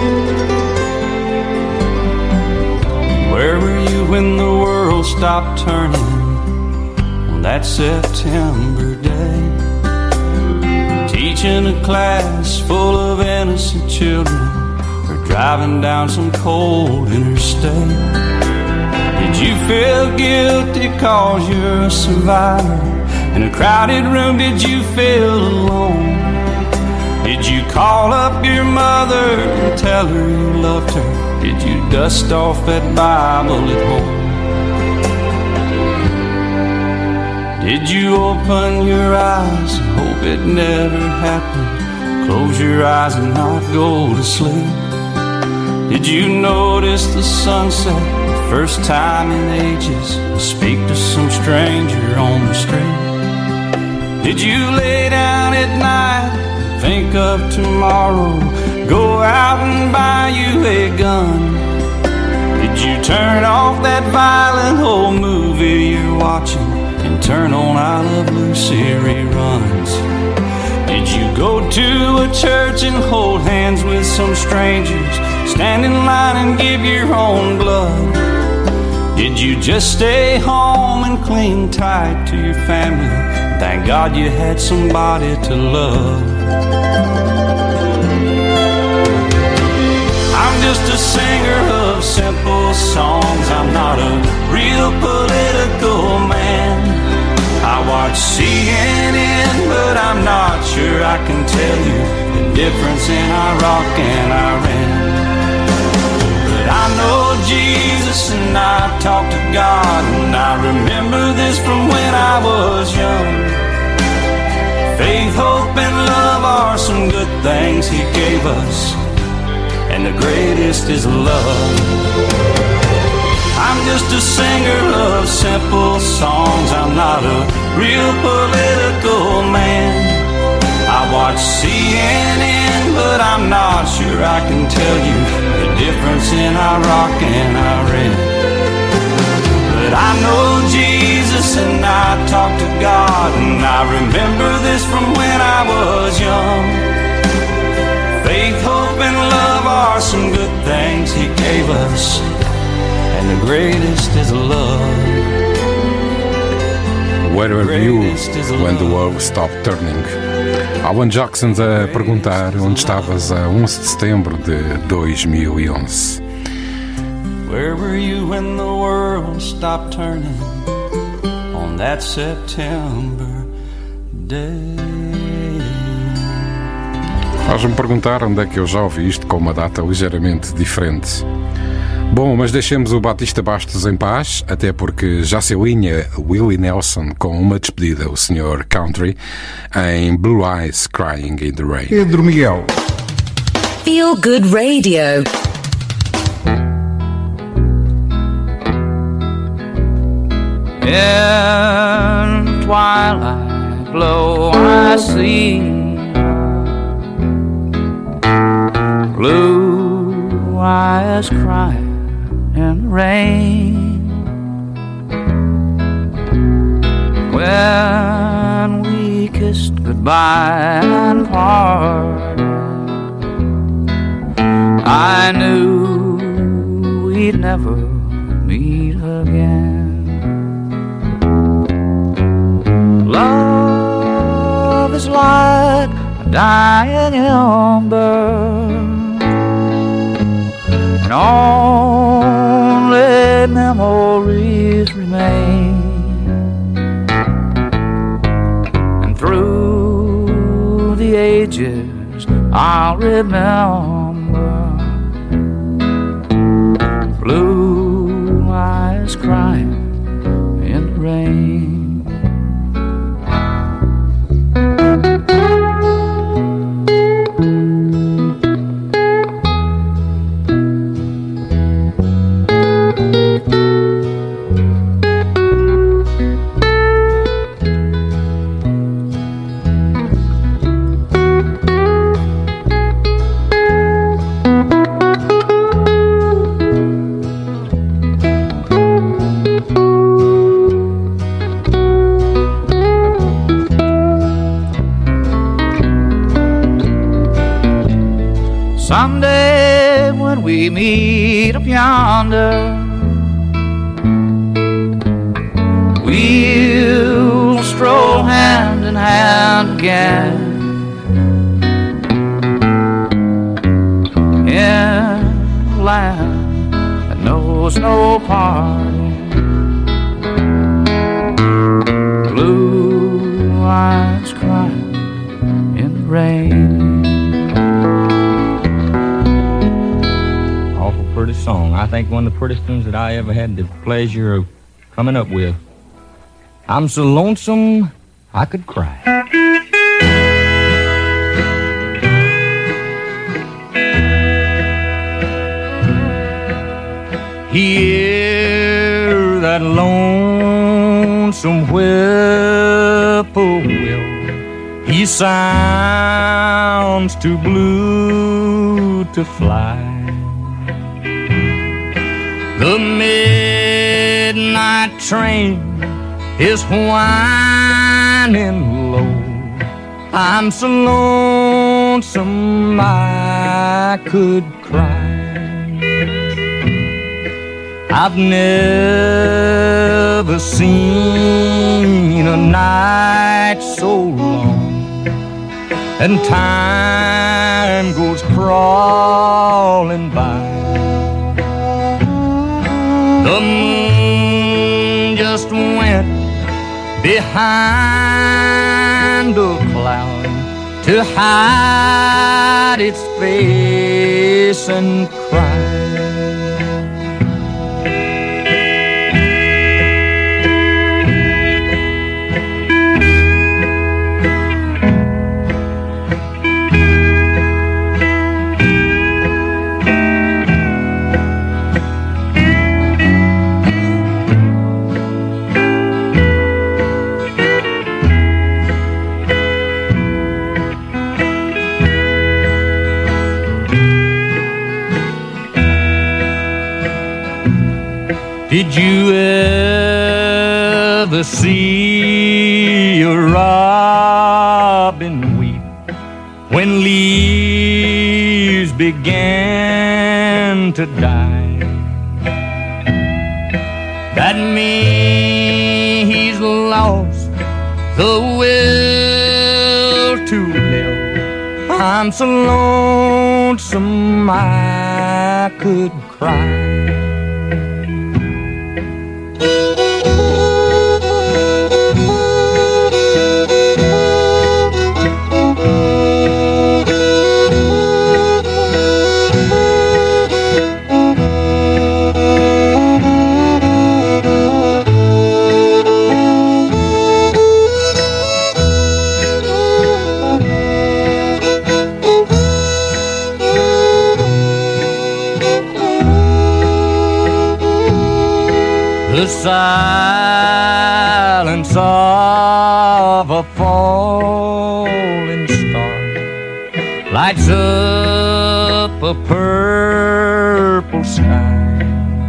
Where were you when the world stopped turning on that September day? Teaching a class full of innocent children, or driving down some cold interstate? Did you feel guilty cause you're a survivor? In a crowded room, did you feel alone? Did you call up your mother and tell her you loved her? Did you dust off that Bible at home? Did you open your eyes and hope it never happened? Close your eyes and not go to sleep? Did you notice the sunset the first time in ages and speak to some stranger on the street? Did you lay down at night, think of tomorrow, go out and buy you a gun? Did you turn off that violent old movie you're watching and turn on I Love Lucy reruns? Did you go to a church and hold hands with some strangers, stand in line and give your own blood? Did you just stay home and cling tight to your family? Thank God you had somebody to love. I'm just a singer of simple songs. I'm not a real political man. I watch C N N, but I'm not sure I can tell you the difference in Iraq and Iran. But I know Jesus and I talk to God, and I remember this from when I was young. Faith, hope, and love are some good things He gave us, and the greatest is love. I'm just a singer of simple songs. I'm not a real political man. I watch C N N, but I'm not sure I can tell you the difference in Iraq and Iran. But I know Jesus and I talk to God, and I remember this from when I was young. Faith, hope, and love are some good things He gave us, and the greatest is love.
Where were you when the world stopped turning? Alan Jackson a perguntar onde estavas a onze de setembro de dois mil e onze.
Where were you when the world stopped turning on that September day?
Faz-me perguntar onde é que eu já ouvi isto com uma data ligeiramente diferente. Bom, mas deixemos o Batista Bastos em paz, até porque já se alinha Willie Nelson com uma despedida, o senhor Country, em Blue Eyes Crying in the Rain.
Pedro Miguel.
Feel Good Radio.
In twilight glow I see blue eyes crying in the rain. When we kissed goodbye and parted, I knew we'd never meet again. Love is like a dying ember, and only memories remain. And through the ages I'll remember blue eyes crying in the rain. Someday when we meet up yonder, we'll stroll hand in hand again in a land that knows no parting. Blue eyes crying in the rain.
Pretty song. I think one of the prettiest tunes that I ever had the pleasure of coming up with. I'm so lonesome I could cry.
Hear that lonesome whippoorwill. He sounds too blue to fly. The midnight train is whining low. I'm so lonesome I could cry. I've never seen a night so long, and time goes crawling by. The moon just went behind a cloud to hide its face and cry. Did you ever see a robin weep when leaves began to die? That means he's lost the will to live. I'm so lonesome I could cry. The silence of a falling star lights up a purple sky,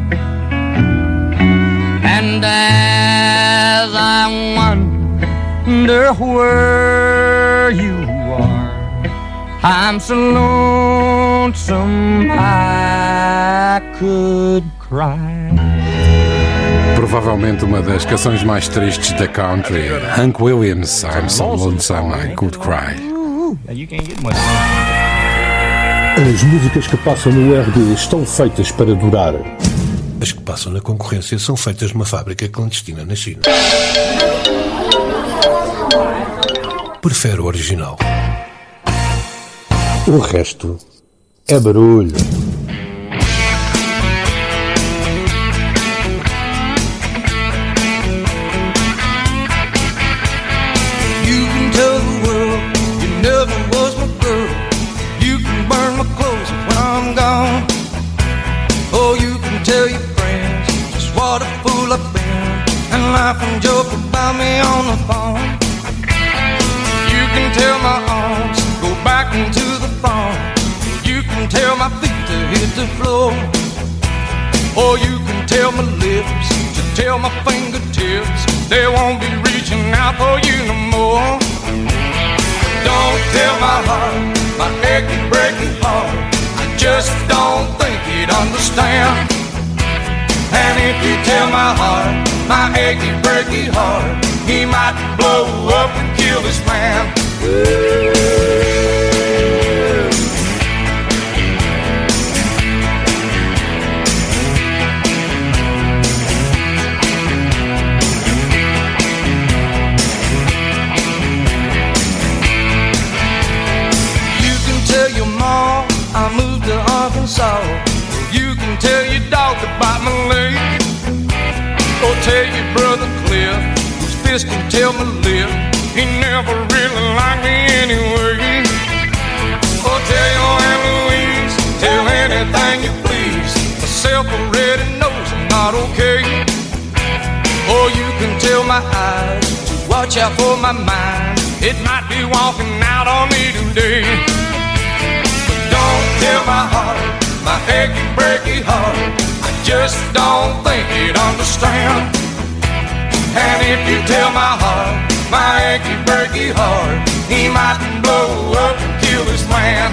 and as I wonder where you are, I'm so lonesome I could cry.
Provavelmente uma das canções mais tristes da country. Hank Williams, I'm so lonesome I could cry.
As músicas que passam no R D estão feitas para durar.
As que passam na concorrência são feitas numa fábrica clandestina na China. Prefere o original.
O resto é barulho.
You can tell the world you never was my girl. You can burn my clothes when I'm gone. Oh, you can tell your friends just what a fool I've been, and laugh and joke about me on the phone. You can tell my arms go back into the farm. You can tell my feet to hit the floor. Or you can tell my lips to tell my fingertips they won't be reaching out for you no more. Don't tell my heart, my achy breaky heart, I just don't think he'd understand. And if you tell my heart, my achy breaky heart, he might blow up and kill this man. You can tell your mom I moved to Arkansas. You can tell your dog to bite my leg. Or tell your brother Cliff, whose fist can tell my lip, he never really liked me anyway. Or tell your Aunt Louise, tell anything you please, myself already knows I'm not okay. Or you can tell my eyes to watch out for my mind, it might be walking out on me today. But don't tell my heart, my achy breaky heart, I just don't think he'd understand. And if you tell my heart, my achy breaky heart, he might blow up and kill this man.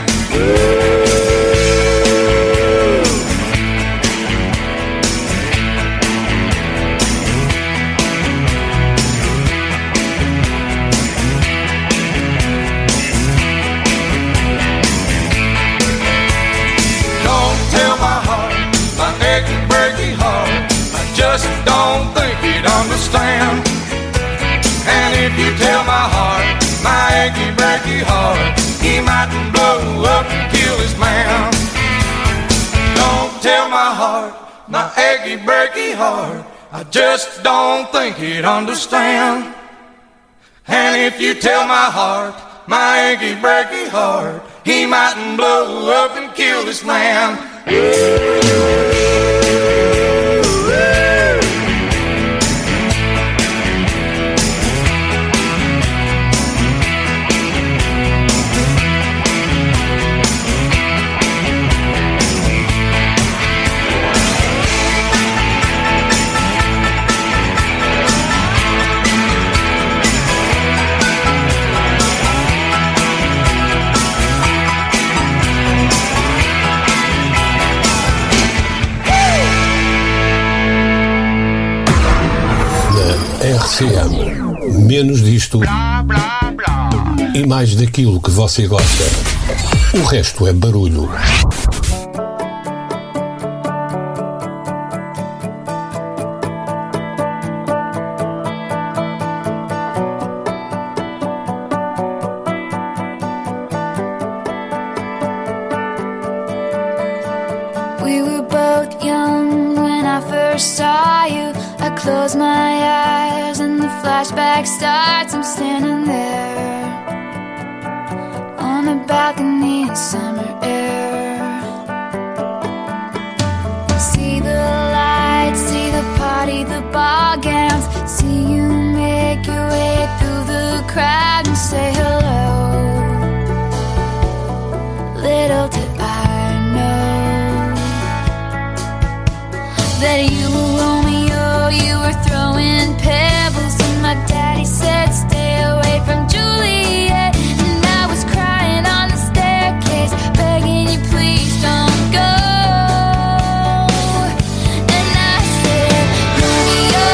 Don't tell my heart, my achy breaky heart, I just don't think he'd understand. And if you tell my heart, my achy breaky heart, he might blow up and kill his man. Don't tell my heart, my achy breaky heart, I just don't think he'd understand. And if you tell my heart, my achy breaky heart, he might blow up and kill this man.
R C M. Menos disto e mais daquilo que você gosta. O resto é barulho.
We were both young when I first saw you. I close my eyes and the flashback starts. I'm standing there on a balcony in summer air. See the lights, see the party, the ball gowns. See you make your way through the crowd and say hello. Little did I know that you were Romeo, you were throwing pebbles, and my daddy said stay away from Juliet, and I was crying on the staircase, begging you please don't go. And I said, Romeo,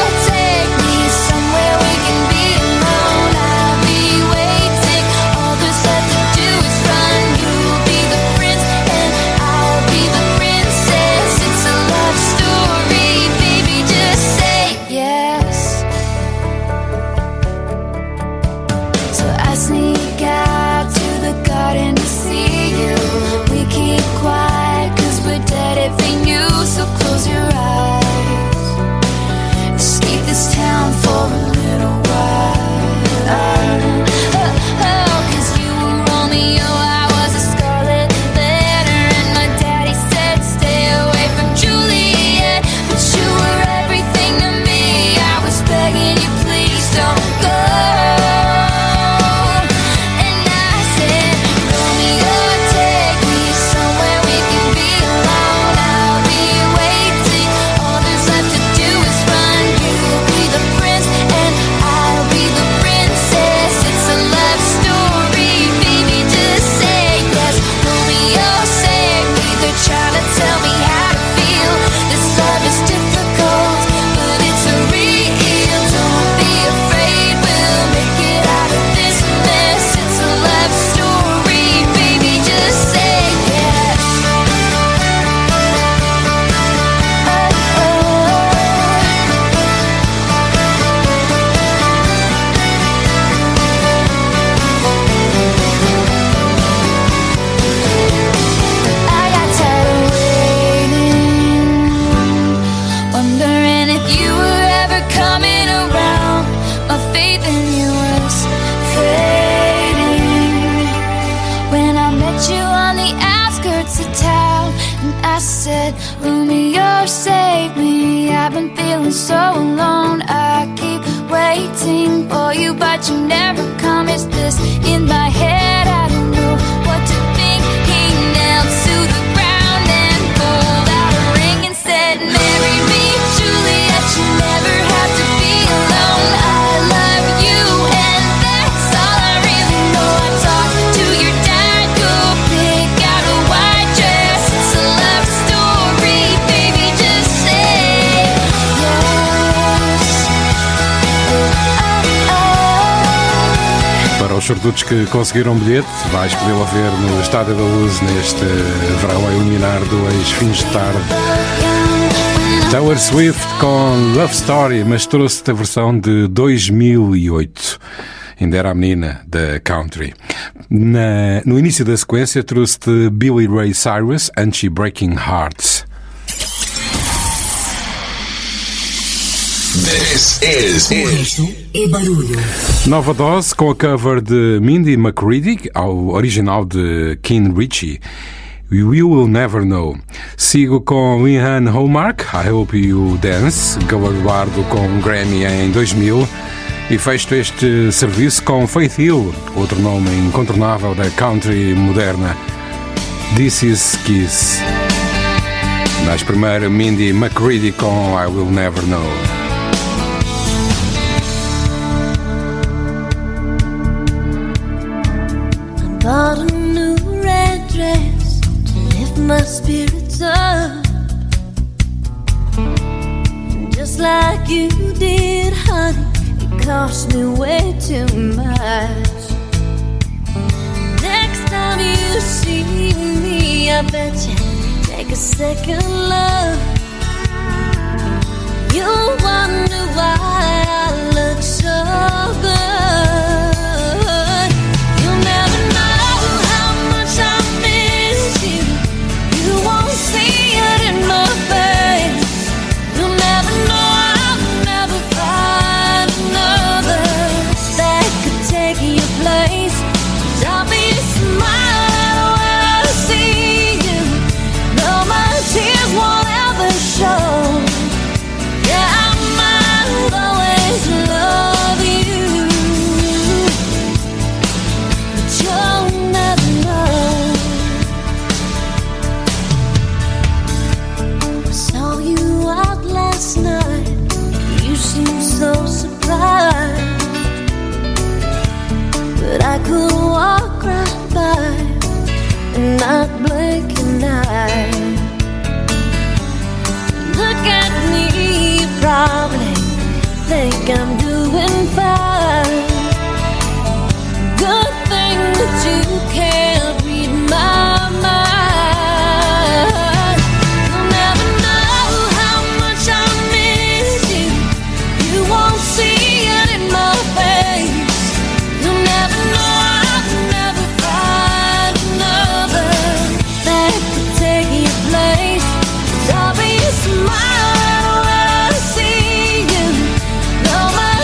I've been feeling so alone. I keep waiting for you, but you never come. Is this in my head? I don't know what to think. He knelt to the ground and pulled out a ring and said, marry me, Juliet, you never have to be alone. I love you and that's all I really know. I talked to your dad, go pick out a white dress. It's a love story, baby, just say yes. Oh, oh.
Para os sortudos que conseguiram bilhete, vais podê-la ver no Estádio da Luz neste verão a eliminar dois fins de tarde. Taylor Swift com Love Story, mas trouxe-te a versão de dois mil e oito. Ainda era a menina da country. Na, no início da sequência trouxe-te Billy Ray Cyrus, and She Breaking Hearts.
This is
O resto é barulho.
Nova dose com a cover de Mindy McCready ao original de Ken Ritchie. We Will Never Know. Sigo com Leanne Hallmark, I Hope You Dance, galardoado com um Grammy em dois mil. E fecho este serviço com Faith Hill, outro nome incontornável da country moderna, This Is Kiss. Mas primeiro Mindy McCready com I Will Never Know.
Bought a new red dress to lift my spirits up. And just like you did, honey, it cost me way too much. Next time you see me, I bet you take a second look. You'll wonder why I look so good. So surprised, but I could walk right by and not blink an eye. Look at me, you probably think I'm doing fine. Good thing that you can't read my mind. Smile when I see you. No matter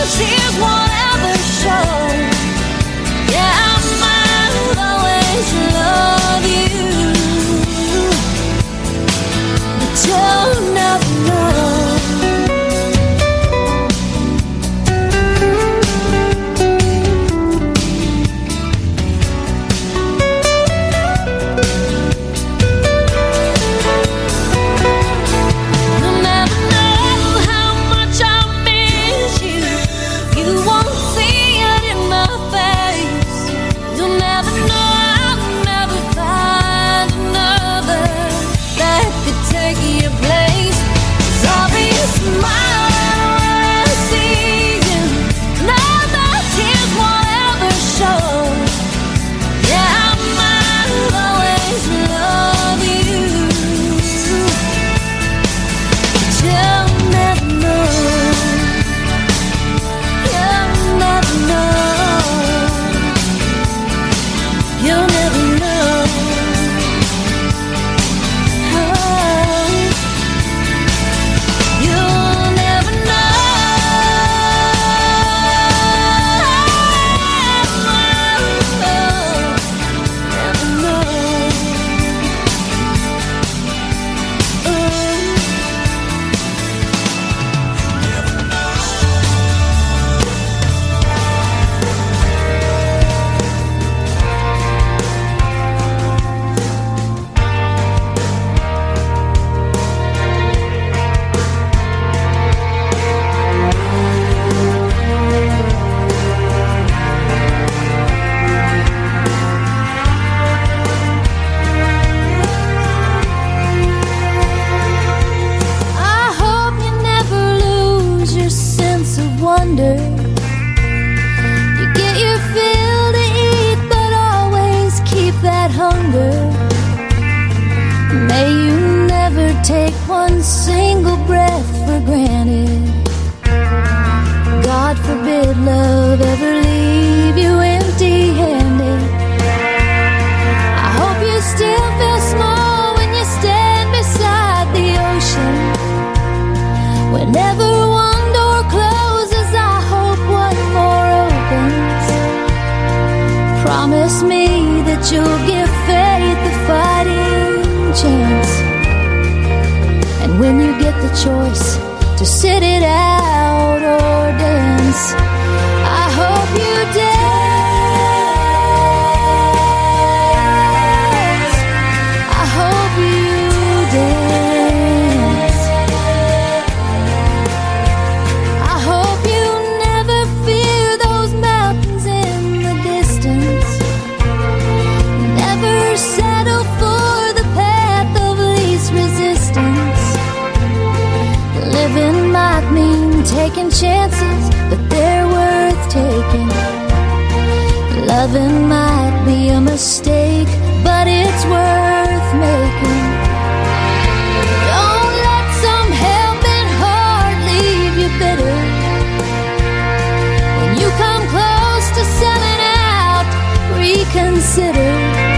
Whenever one door closes, I hope one more opens. Promise me that you'll give faith a fighting chance. And when you get the choice to sit it out or dance, I hope you dance. I hope you dance. I hope you never fear those mountains in the distance. Never settle for the path of least resistance. Living might mean taking chances, but they're worth taking. Loving might be a mistake, but it's worth making. Don't let some helping heart leave you bitter. When you come close to selling out, reconsider.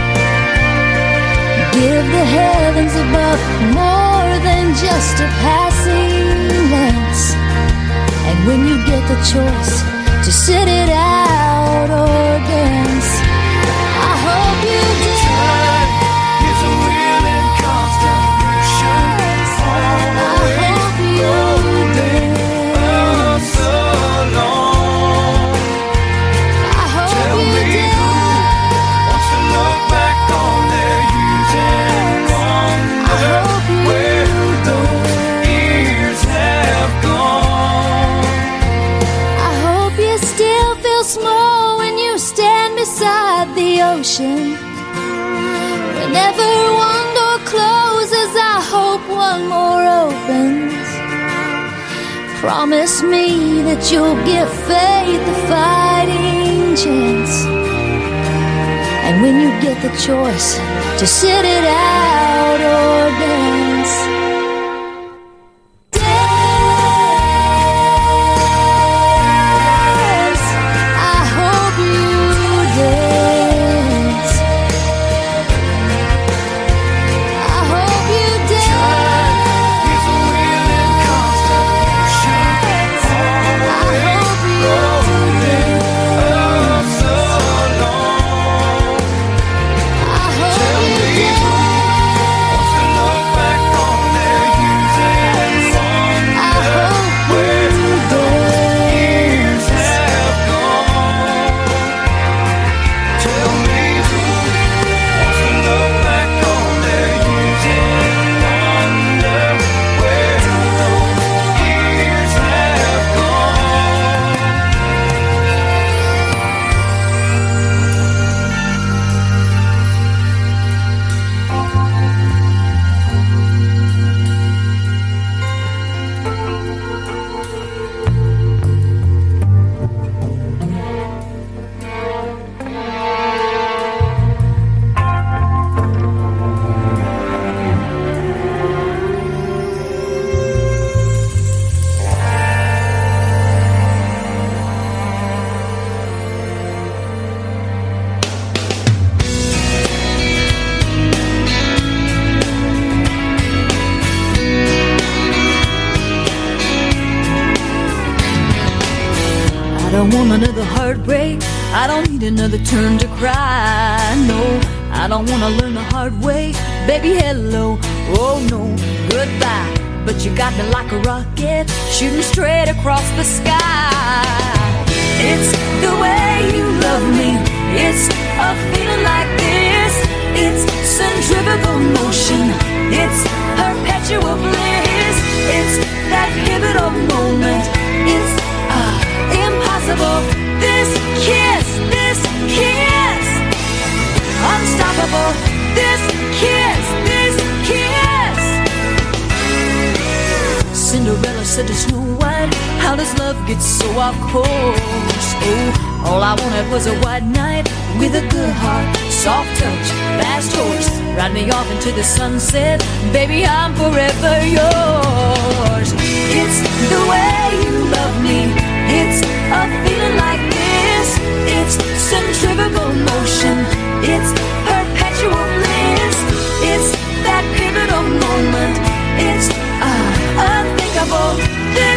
Give the heavens above more than just a passing glance. And when you get the choice to sit it out or dance, I hope you dance. Time is a wheel in constant motion. I hope you dance. So long. I hope Tell you me dance. Who wants to look back on their years and wonder where those years have gone. I hope you still feel small when you stand beside the ocean. Whenever one door closes, I hope one more opens. Promise me that you'll give faith a fighting chance. And when you get the choice to sit it out or dance, dance. I hope you dance. I hope you dance. Is a wheel in constant motion. I hope you dance. So long. I hope Tell you me dance. Wants to look back on their years and wonder I hope where those years have gone. Tell me who wants to look back on their years and wonder where those years have gone.
I don't want another heartbreak. I don't need another turn to cry. No, I don't want to learn the hard way. Baby, hello. Oh no, goodbye. But you got me like a rocket, shooting straight across the sky. It's the way you love me. It's a feeling like this. It's centrifugal motion. It's perpetual bliss. It's that pivotal moment. It's uh, impossible. This kiss, this kiss, unstoppable. This kiss, this kiss. Cinderella said to Snow White, how does love get so off course? Oh, all I wanted was a white knight with a good heart, soft touch, fast horse. Ride me off into the sunset, baby, I'm forever yours. It's the way you love me. It's a feeling like this. It's centrifugal motion. It's perpetual bliss. It's that pivotal moment. It's uh, unthinkable. This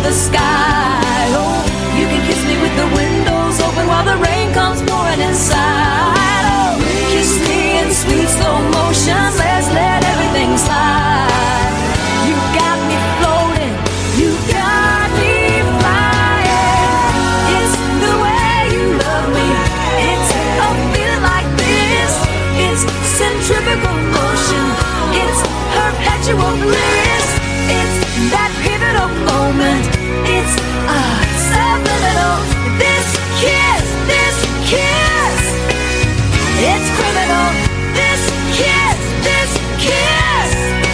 the sky. Oh, you can kiss me with the windows open while the rain comes pouring inside. Oh, kiss me in sweet slow motion. Let's let everything slide. You got me floating. You got me flying. It's the way you love me. It's a feeling like this. It's centrifugal motion. It's perpetual bliss. It's that pivotal moment. It's ah, subliminal. This kiss, this kiss. It's criminal. This kiss, this kiss.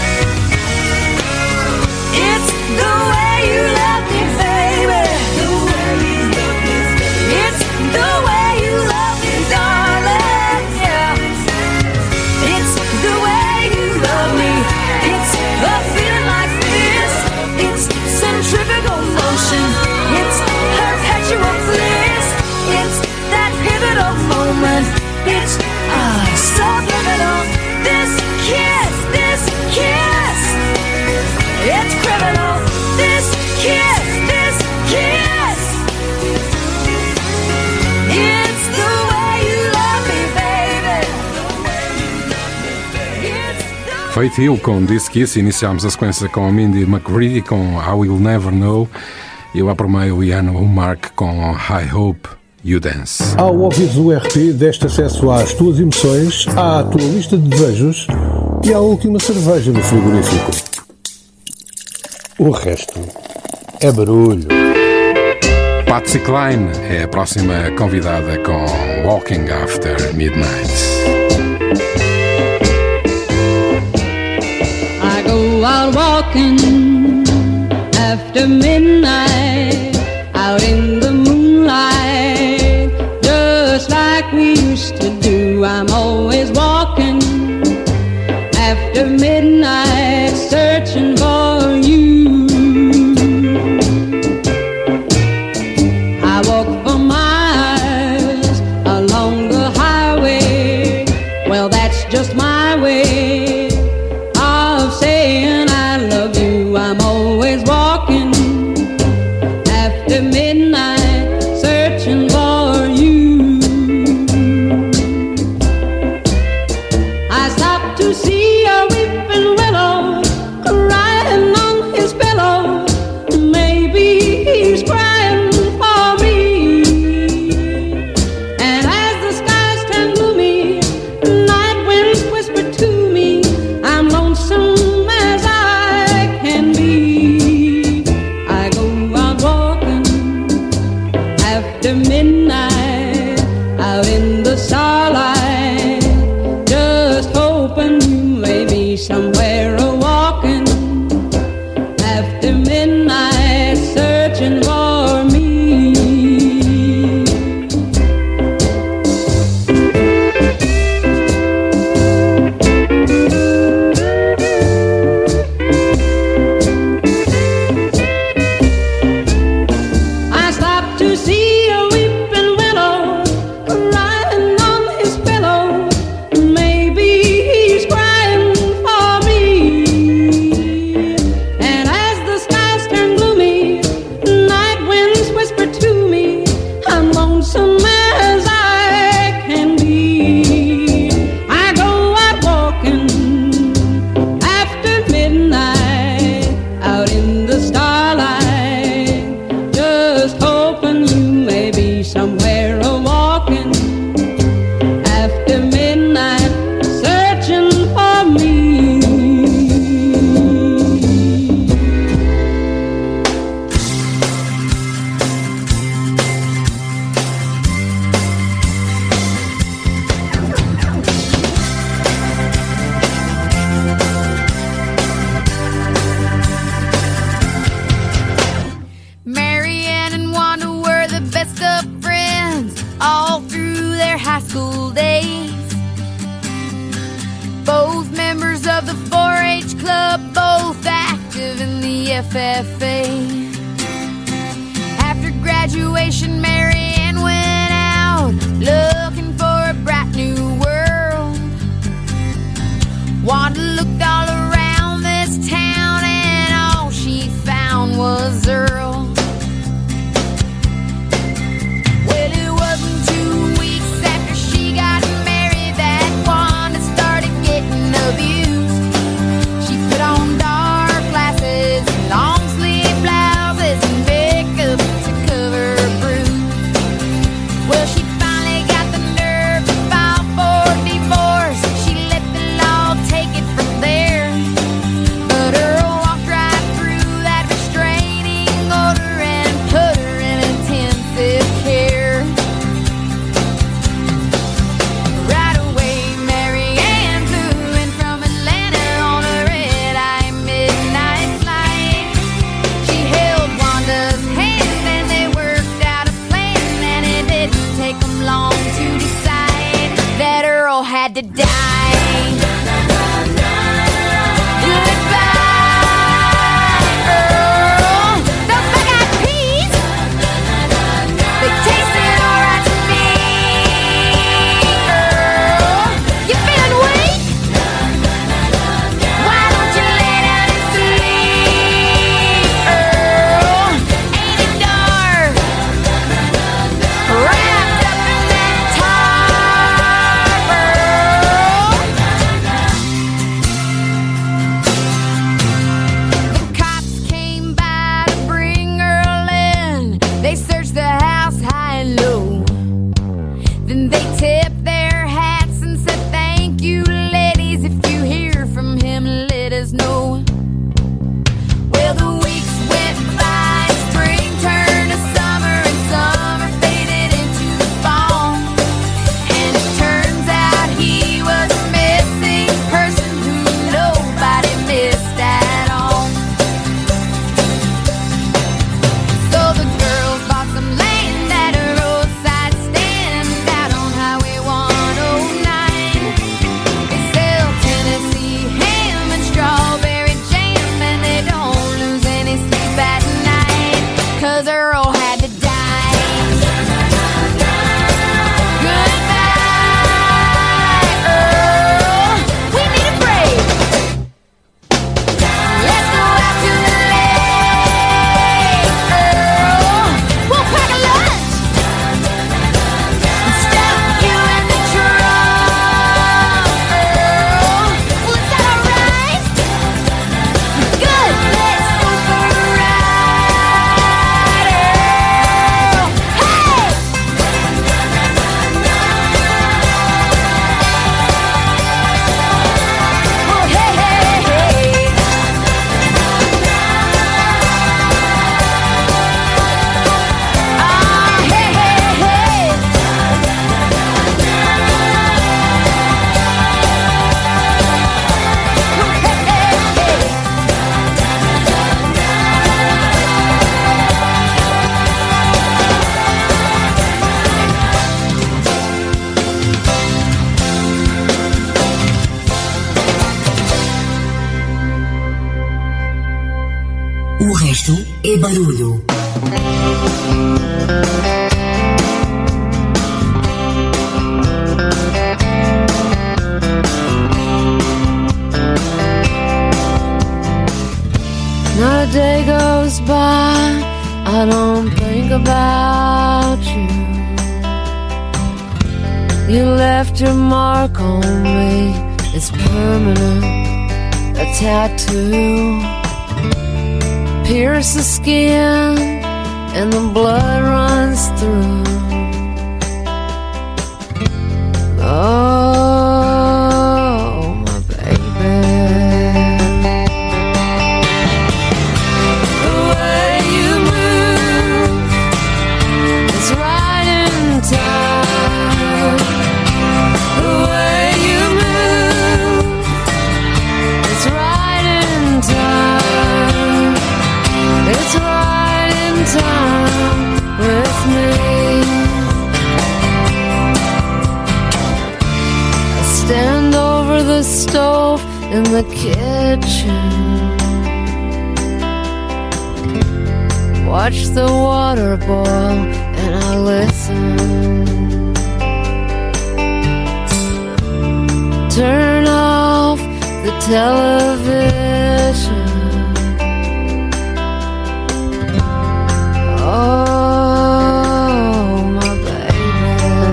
It's the way you love me, baby. The way you love me, baby. It's the way you love me, darling. Yeah. It's the way you love me. It's a feeling like this. It's centrifugal motion. It's perpetual bliss. It's that pivotal moment. It's ah, subliminal. This kiss, this kiss. It's criminal. This kiss, this kiss. It's the way you love me, baby.
Faith Hill com This Kiss. Iniciámos a sequência com Mindy McCready com I Will Never Know. E lá por meio Ian Mark com I Hope You Dance.
Ao ouvires o R P, deste acesso às tuas emoções, à tua lista de desejos e à última cerveja no frigorífico. O resto é barulho.
Patsy Cline é a próxima convidada com Walking After Midnight.
I go out walking after midnight, out in the moonlight, just like we used to do. I'm always walking after midnight, searching for you. I walk for miles along the highway. Well, that's just my way of saying I love you. I'm always walking after midnight, searching for you. I stopped to see a weeping willow crying on his pillow. Maybe he's crying for me. And as the skies turn gloomy, night winds whisper to me, I'm lonesome as I can be. I go out walking after midnight, out in the starlight, just hoping you may be somewhere a walking after midnight, searching for me. I stopped to see a weeping willow crying on his pillow. Maybe he's crying for me. And as the skies turn gloomy, night winds whisper to me, I'm lonesome as I can be. I go out walking after midnight, out in the starlight, just hoping you may be somewhere a walking after midnight, searching for me.
Marianne and Wanda were the best of friends all through their high school days. Both members of the four H club, both active in the F F A. After graduation, Marianne went out looking for a bright new world. Wanda looked all around this town and all she found was Earl.
é barulho.
Not a day goes by, I don't think about you. You left your mark on me, it's permanent, a tattoo. Pierce the skin and the blood runs through. Oh, my baby. The way you move is right in time. The way you move is right in time. It's right in time with me. I stand over the stove in the kitchen, watch the water boil and I listen. Turn off the television. Oh, my baby.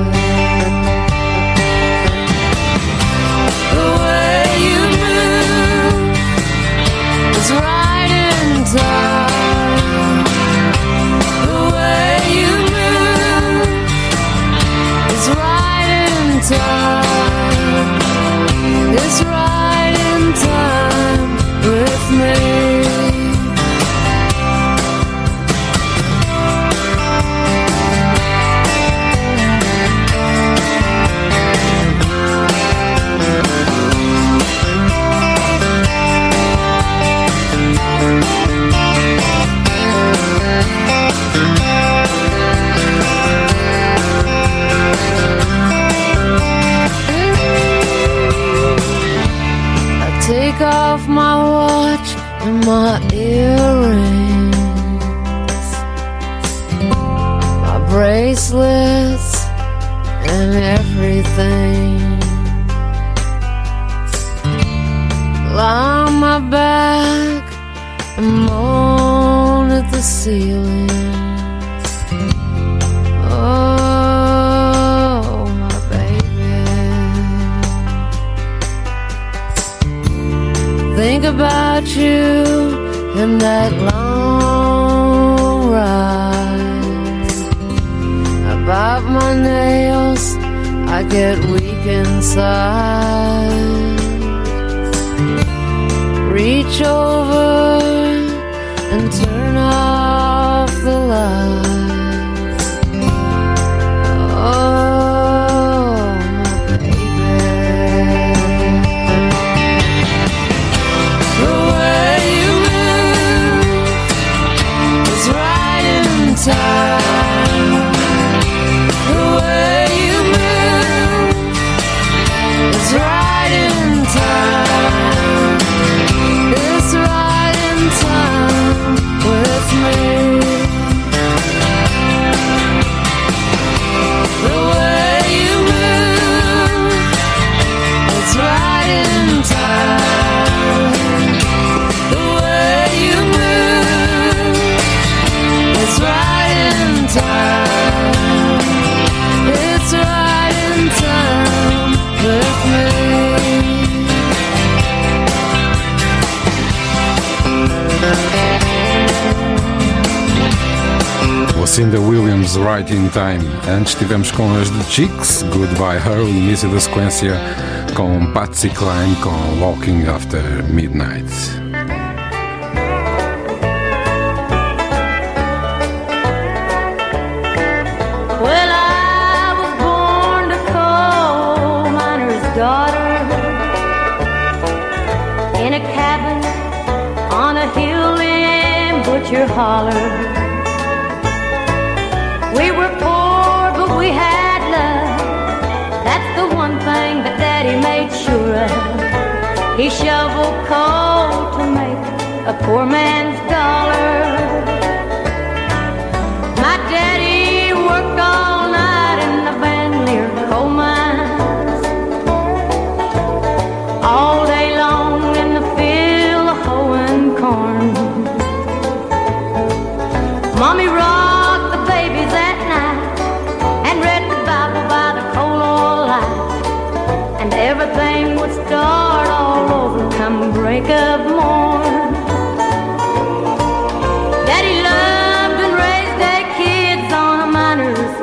The way you move is right in time. The way you move is right in time. It's right in time with me. Take off my watch and my earrings, my bracelets and everything. Lie on my back and moan at the ceiling. Oh, my baby. Think about you and that long ride. I bite my nails, I get weak inside. Reach over and turn off the light. Oh, my baby. The way you move is right in time. The way you move is right in time. It's right in time with me. The way you move, it's right in time. The way you move, it's right in time. It's right in time with me.
Lucinda Williams, Right in Time. Antes tivemos com as The Chicks, Goodbye Her, o início da sequência com Patsy Cline com Walking After Midnight.
Well, I was born to coal miner's daughter in a cabin on a hill in Butcher Holler. We were poor, but we had love. That's the one thing that Daddy made sure of. He shoveled coal to make a poor man's dollar.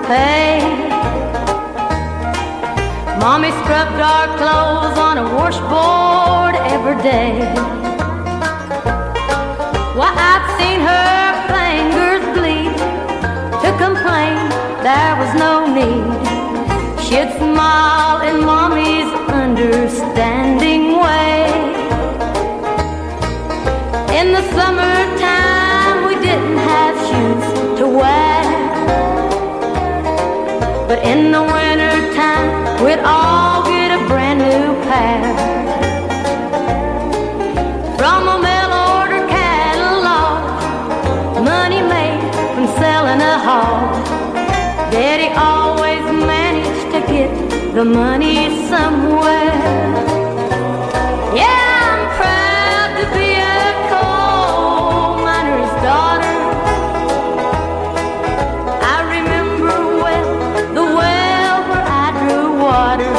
paid. Mommy scrubbed our clothes on a washboard every day. Why, I've seen her fingers bleed. To complain, there was no need. She'd smile in Mommy's understanding way. In the summertime, we didn't have shoes to wear, but in the wintertime, we'd all get a brand new pair. From a mail-order catalog, money made from selling a hog, Daddy always managed to get the money somewhere. Yeah, I'm proud to be a coal miner's daughter. I remember well the well where I drew water.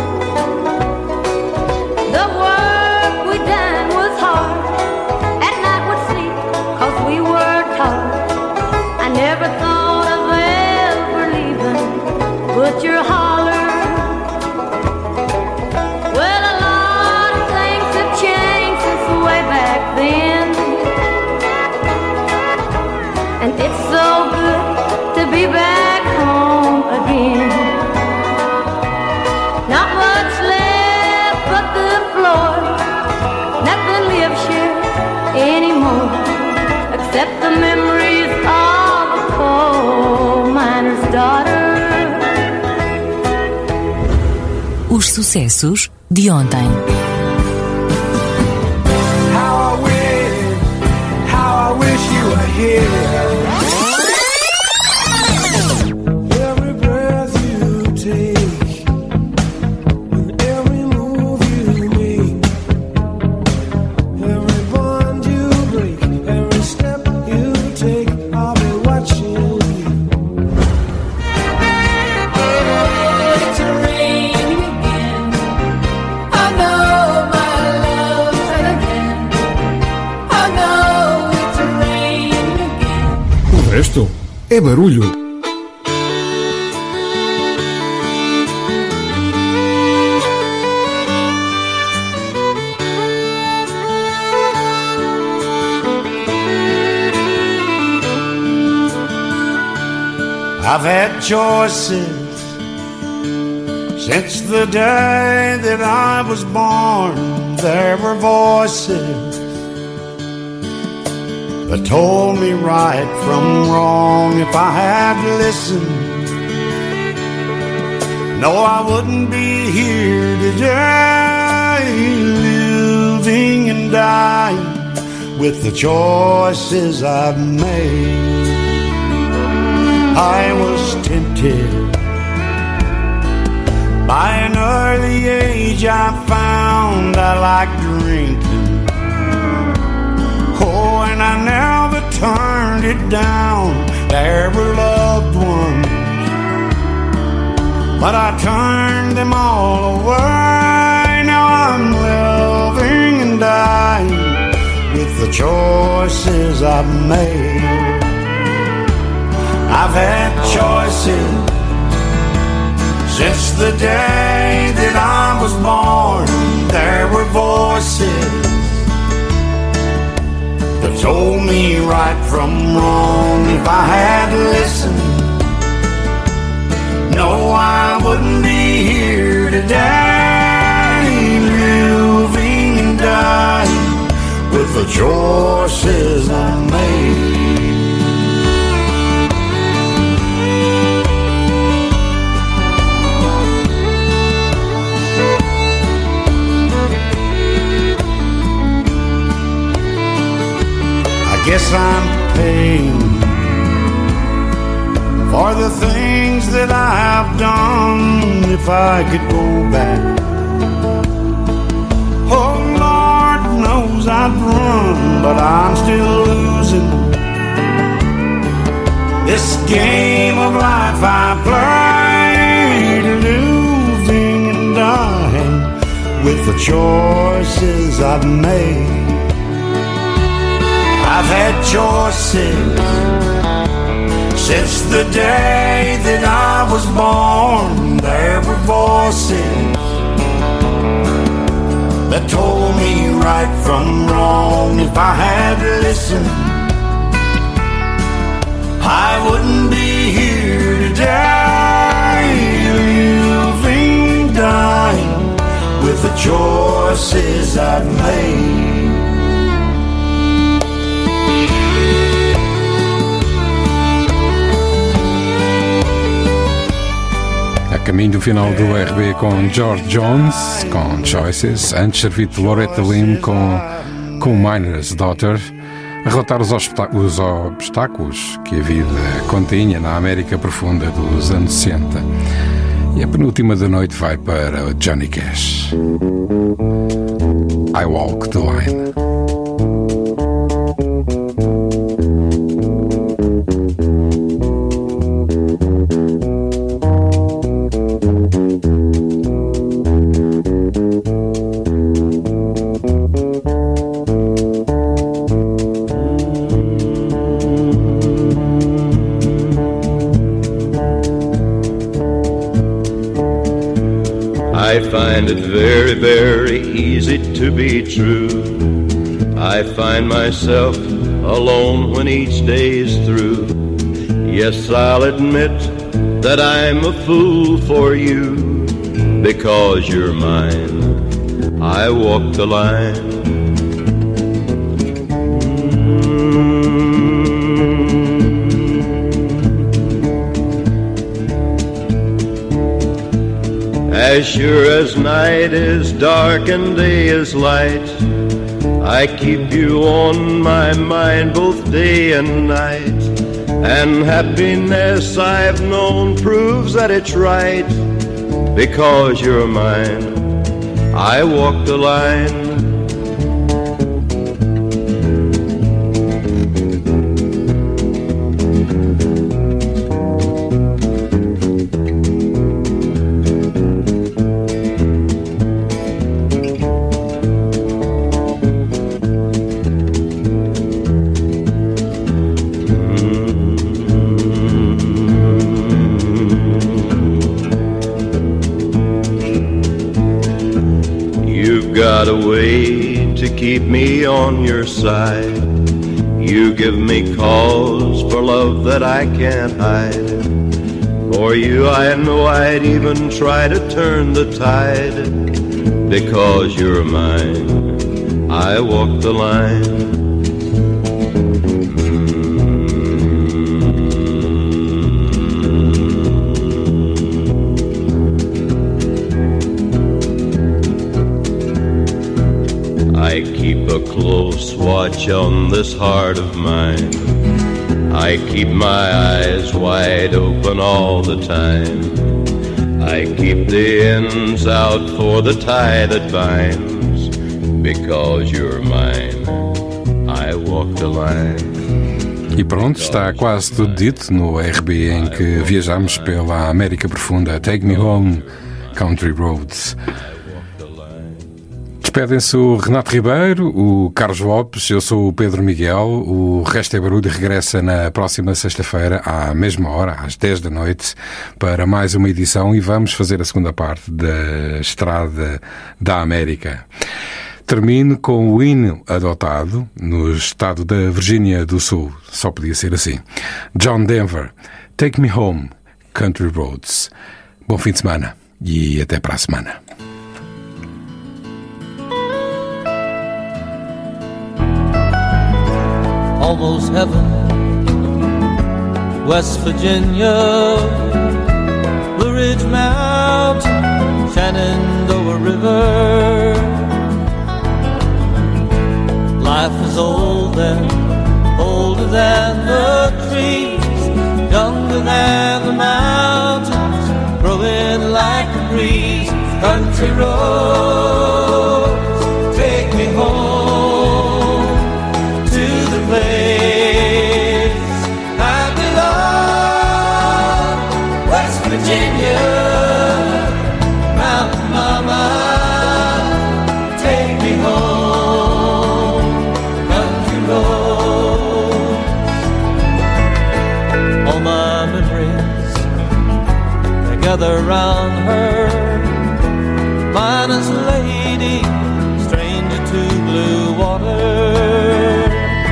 The work we done was hard. At night we'd sleep 'cause we were taught. I never thought of ever leaving but your holler. Well, a lot of things have changed since way back then, and it's so good to be back home again. Not much left but the floor. Nothing lives here anymore except the memories of a coal miner's daughter.
Os sucessos de ontem.
How I wish, how I wish you were here. Every breath you take, and every move you make, every bond you break, every step you take, I'll be watching you. It's raining again. I know my love's again. I know it's raining again.
O resto é barulho.
I've had choices since the day that I was born. There were voices that told me right from wrong. If I had listened, no, I wouldn't be here today, living and dying with the choices I've made. I was tempted by an early age. I found I liked drinking. Oh, and I never turned it down. There were loved ones, but I turned them all away. Now I'm living and dying with the choices I've made. I've had choices since the day that I was born. There were voices that told me right from wrong. If I had listened, no, I wouldn't be here today, living and dying with the choices I made. Guess I'm paying for the things that I have done. If I could go back, oh Lord knows I'd run, but I'm still losing this game of life I play, living and dying with the choices I've made. I've had choices since the day that I was born, there were voices that told me right from wrong. If I had listened, I wouldn't be here today, living, dying with the choices I've made.
A caminho do final do R B com George Jones, com Choices, antes servido de Loretta Lynn com, com Miner's Daughter, a relatar os, os obstáculos que a vida continha na América profunda dos anos sessenta. E a penúltima da noite vai para Johnny Cash. I Walk the Line.
I find it very, very easy to be true. I find myself alone when each day's through. Yes, I'll admit that I'm a fool for you, because you're mine. I walk the line. As sure as night is dark and day is light, I keep you on my mind both day and night. And happiness I've known proves that it's right, because you're mine. I walk the line. Got a way to keep me on your side. You give me cause for love that I can't hide. For you I know I'd even try to turn the tide, because you're mine. I walk the line. I keep a close watch on this heart of mine. I keep my eyes wide open all the time. I keep the ends out for the tie that binds, because you're mine. I walk the line.
E pronto, está quase tudo dito no R B em que viajamos pela América Profunda. Take Me Home, Country Roads. Despedem-se o Renato Ribeiro, o Carlos Lopes, eu sou o Pedro Miguel. O Resto é Barulho regressa na próxima sexta-feira, à mesma hora, às dez da noite, para mais uma edição, e vamos fazer a segunda parte da Estrada da América. Termino com o hino adotado no estado da Virgínia do Sul. Só podia ser assim. John Denver, Take Me Home, Country Roads. Bom fim de semana e até para a semana.
Almost heaven, West Virginia, Blue Ridge Mountain, Shenandoah River. Life is old and older than the trees, younger than the mountains, growing like a breeze. Country roads, take me home to the place I belong. West Virginia, Mountain Mama, take me home. Country roads, all my memories gather round her. Miner's lady, stranger to blue water.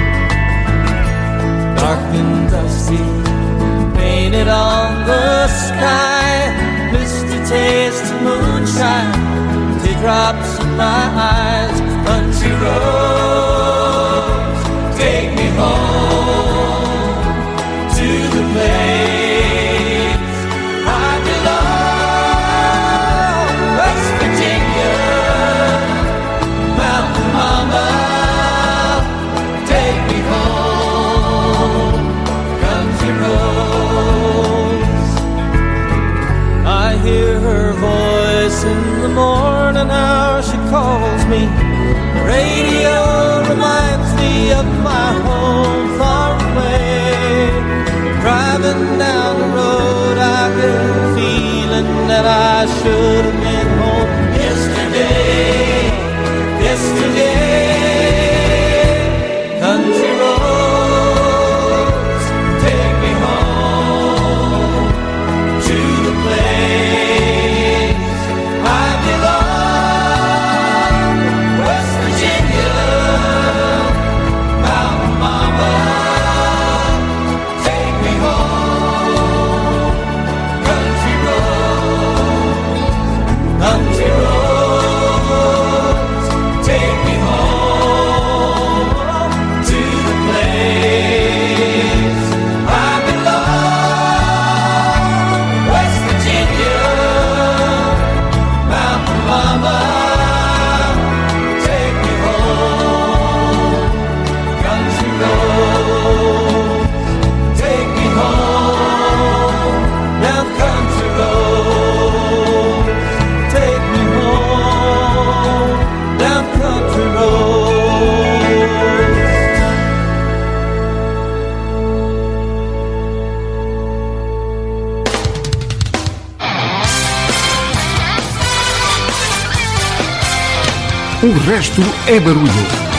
Dark and dusty, painted on the sky. Misty taste of moonshine, teardrops in my eyes. Country roads, take me home to the place I belong. West Virginia, Mountain Mama, take me home. Country roads, I hear her voice in the morning hour. She calls me. Radio reminds me of my home far away. Driving down the road, I get a feeling that I should have been home yesterday, yesterday. Country roads, take me home to the place I belong.
O resto é barulho.